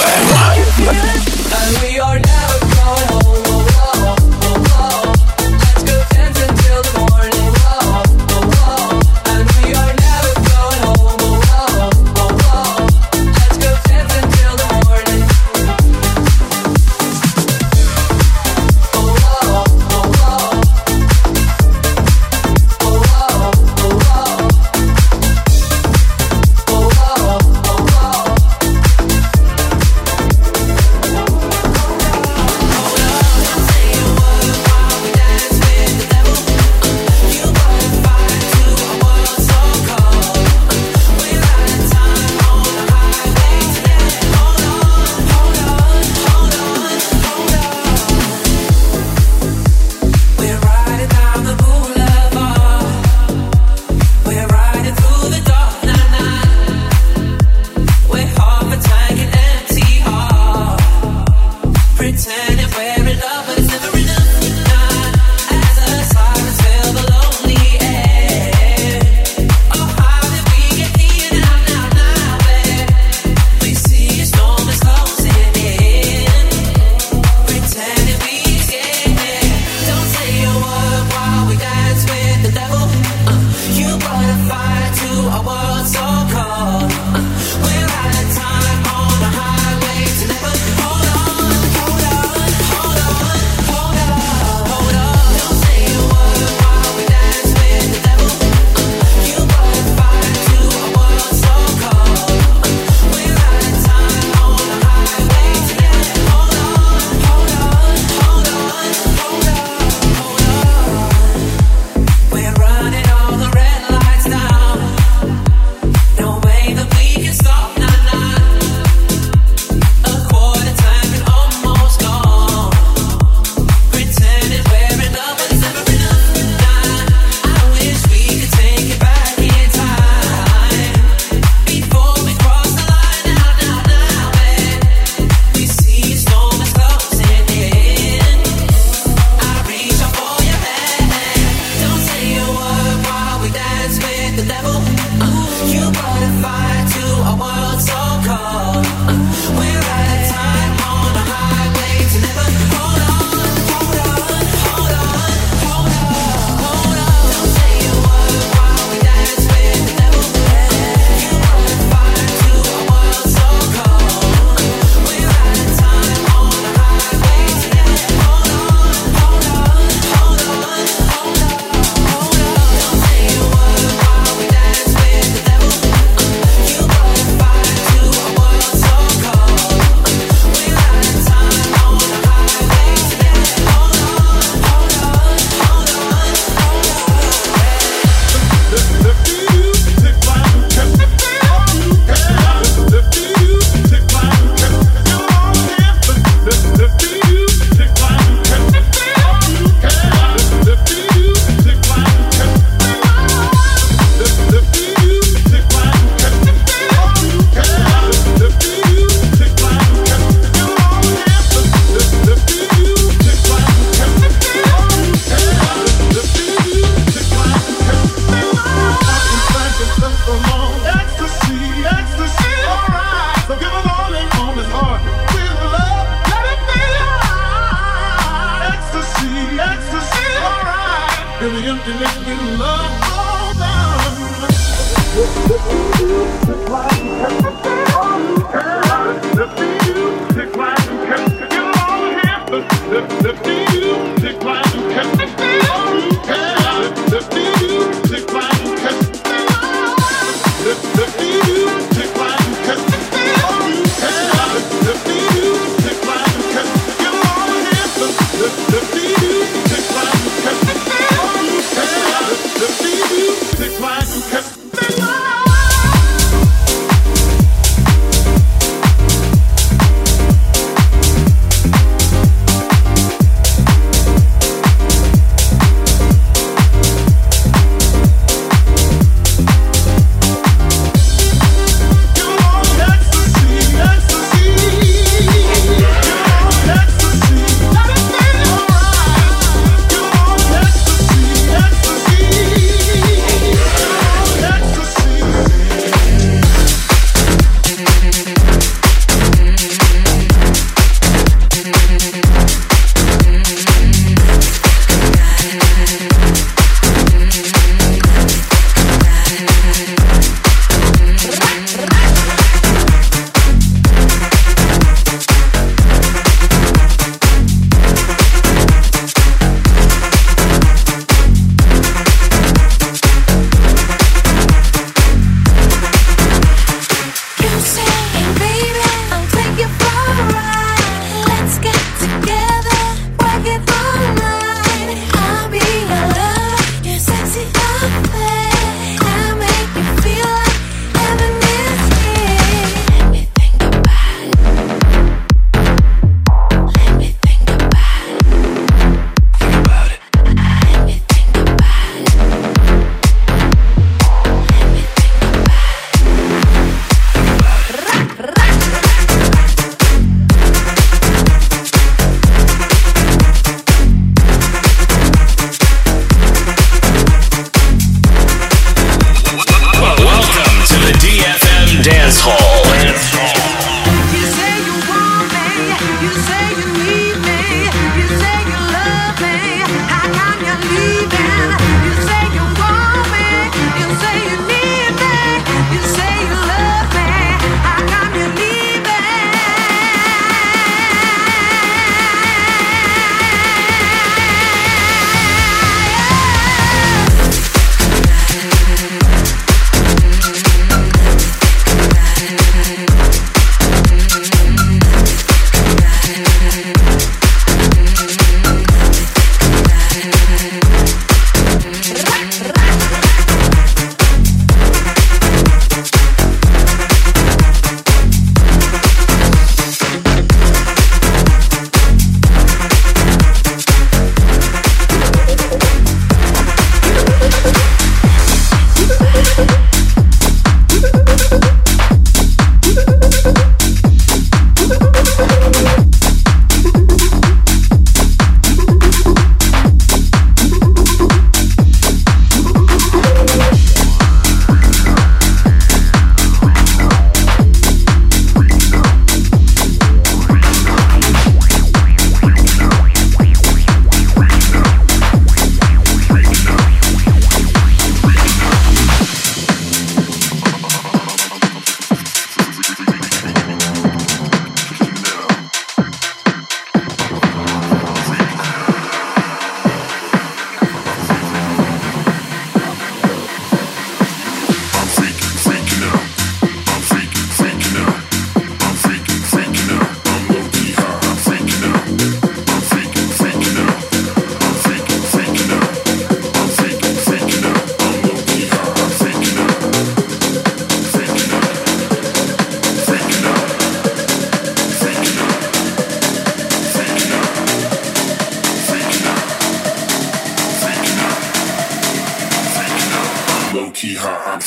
And we are never going home. Oh, oh, oh, oh. Let's go dancing till the morning. Oh, oh, oh. And we are never going home. Oh, oh, oh. Let's go dancing till the morning. Oh, oh, oh, oh. Oh, oh, oh, oh. Oh, oh, oh, oh.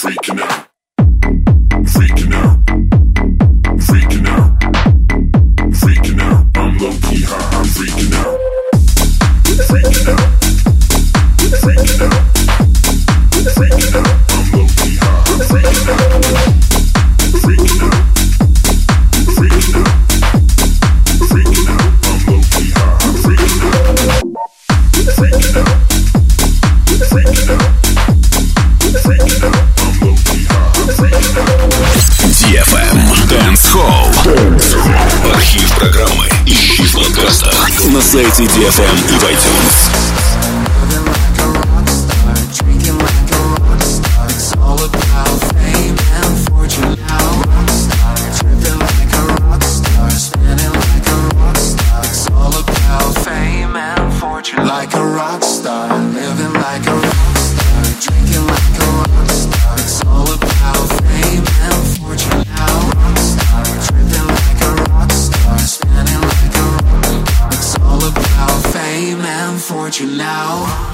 freaking out. Freaking out. Freaking out. Freaking out. I'm low key high. I'm freaking out. Freaking out. Freaking out. Freaking out. I'm low key high. I'm freaking out. Freaking out. Freaking out. Freaking out. I'm low key high. I'm freaking out. Freaking out. Freaking out. Freaking out. I'm low key high. I'm freaking out. DFM Dance Hall. Архив программы ищи в подкастах на сайте DFM и в iTunes. Like a rock star, living like a rock star, drinking like a rock star. It's all about fame and fortune now. Rock star, tripping like a rock star, spinning like a rock star. It's all about fame and fortune now.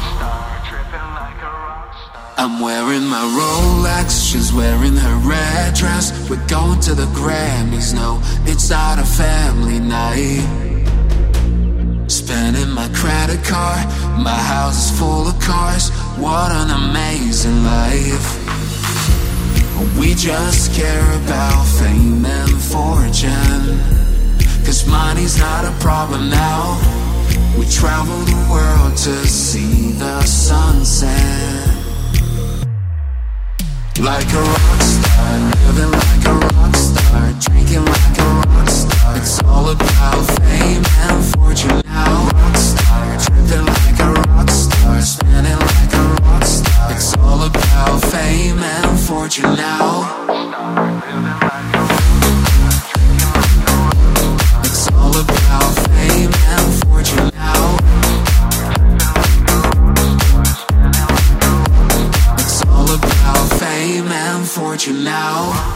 I'm wearing my Rolex, she's wearing her red dress. We're going to the Grammys, no, it's not a family night. Spending my credit card, my house is full of cars. What an amazing life. We just care about fame and fortune, 'cause money's not a problem now. We travel the world to see the sunset. Like a rock star, living like a rock star, drinking like a rock star. It's all about fame and fortune now. Rock star, tripping like a rock star, spinning like a rock star. It's all about fame and fortune now. It's all about fame and fortune now. It's all about fame and fortune now.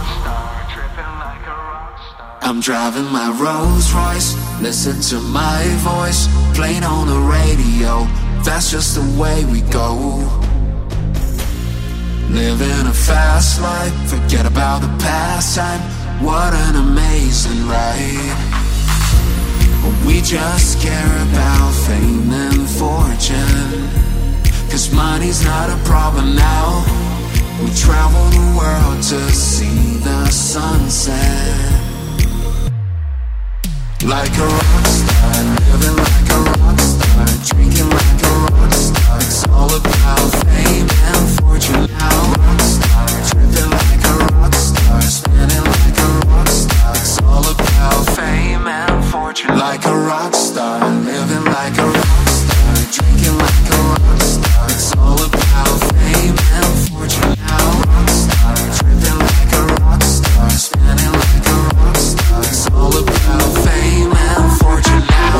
I'm driving my Rolls Royce, listen to my voice, playing on the radio. That's just the way we go. Living a fast life, forget about the past time. What an amazing ride. We just care about fame and fortune, 'cause money's not a problem now. We travel the world to see the sunset. Like a rock star, living like a rock star, drinking like a rock star. It's all about fame and fortune now. Rock star, tripping like a rock star, spinning like a rock star. It's all about fame and fortune. Like a rock star, living like a rock star, drinking like a rock star. It's all about fame and fortune now. Rock star, tripping like a rock star, spinning like a rock star. It's all about fame and fortune now.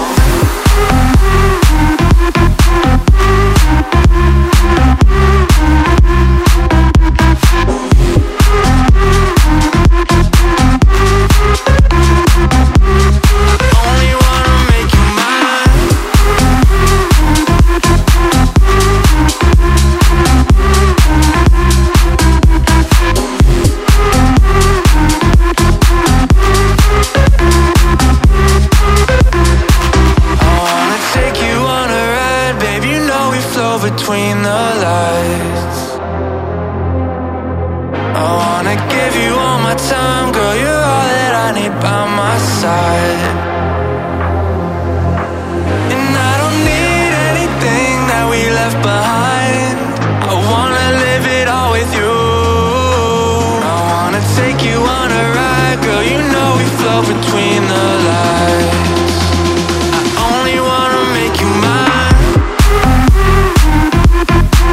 Between the lights, I wanna give you all my time, girl, you're all that I need by my side. And I don't need anything that we left behind. I wanna live it all with you. I wanna take you on a ride, girl, you know we flow between the lights. I only wanna make you mine.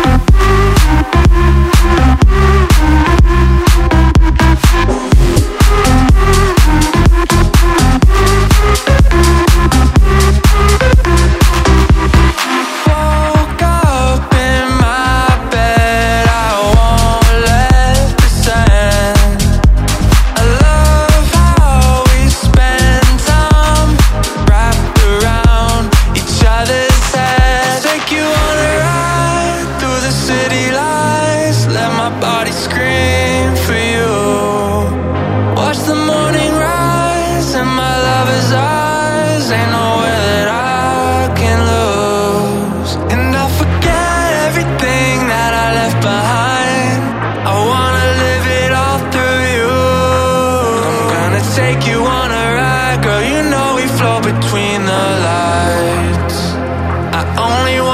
flow between the lights. I only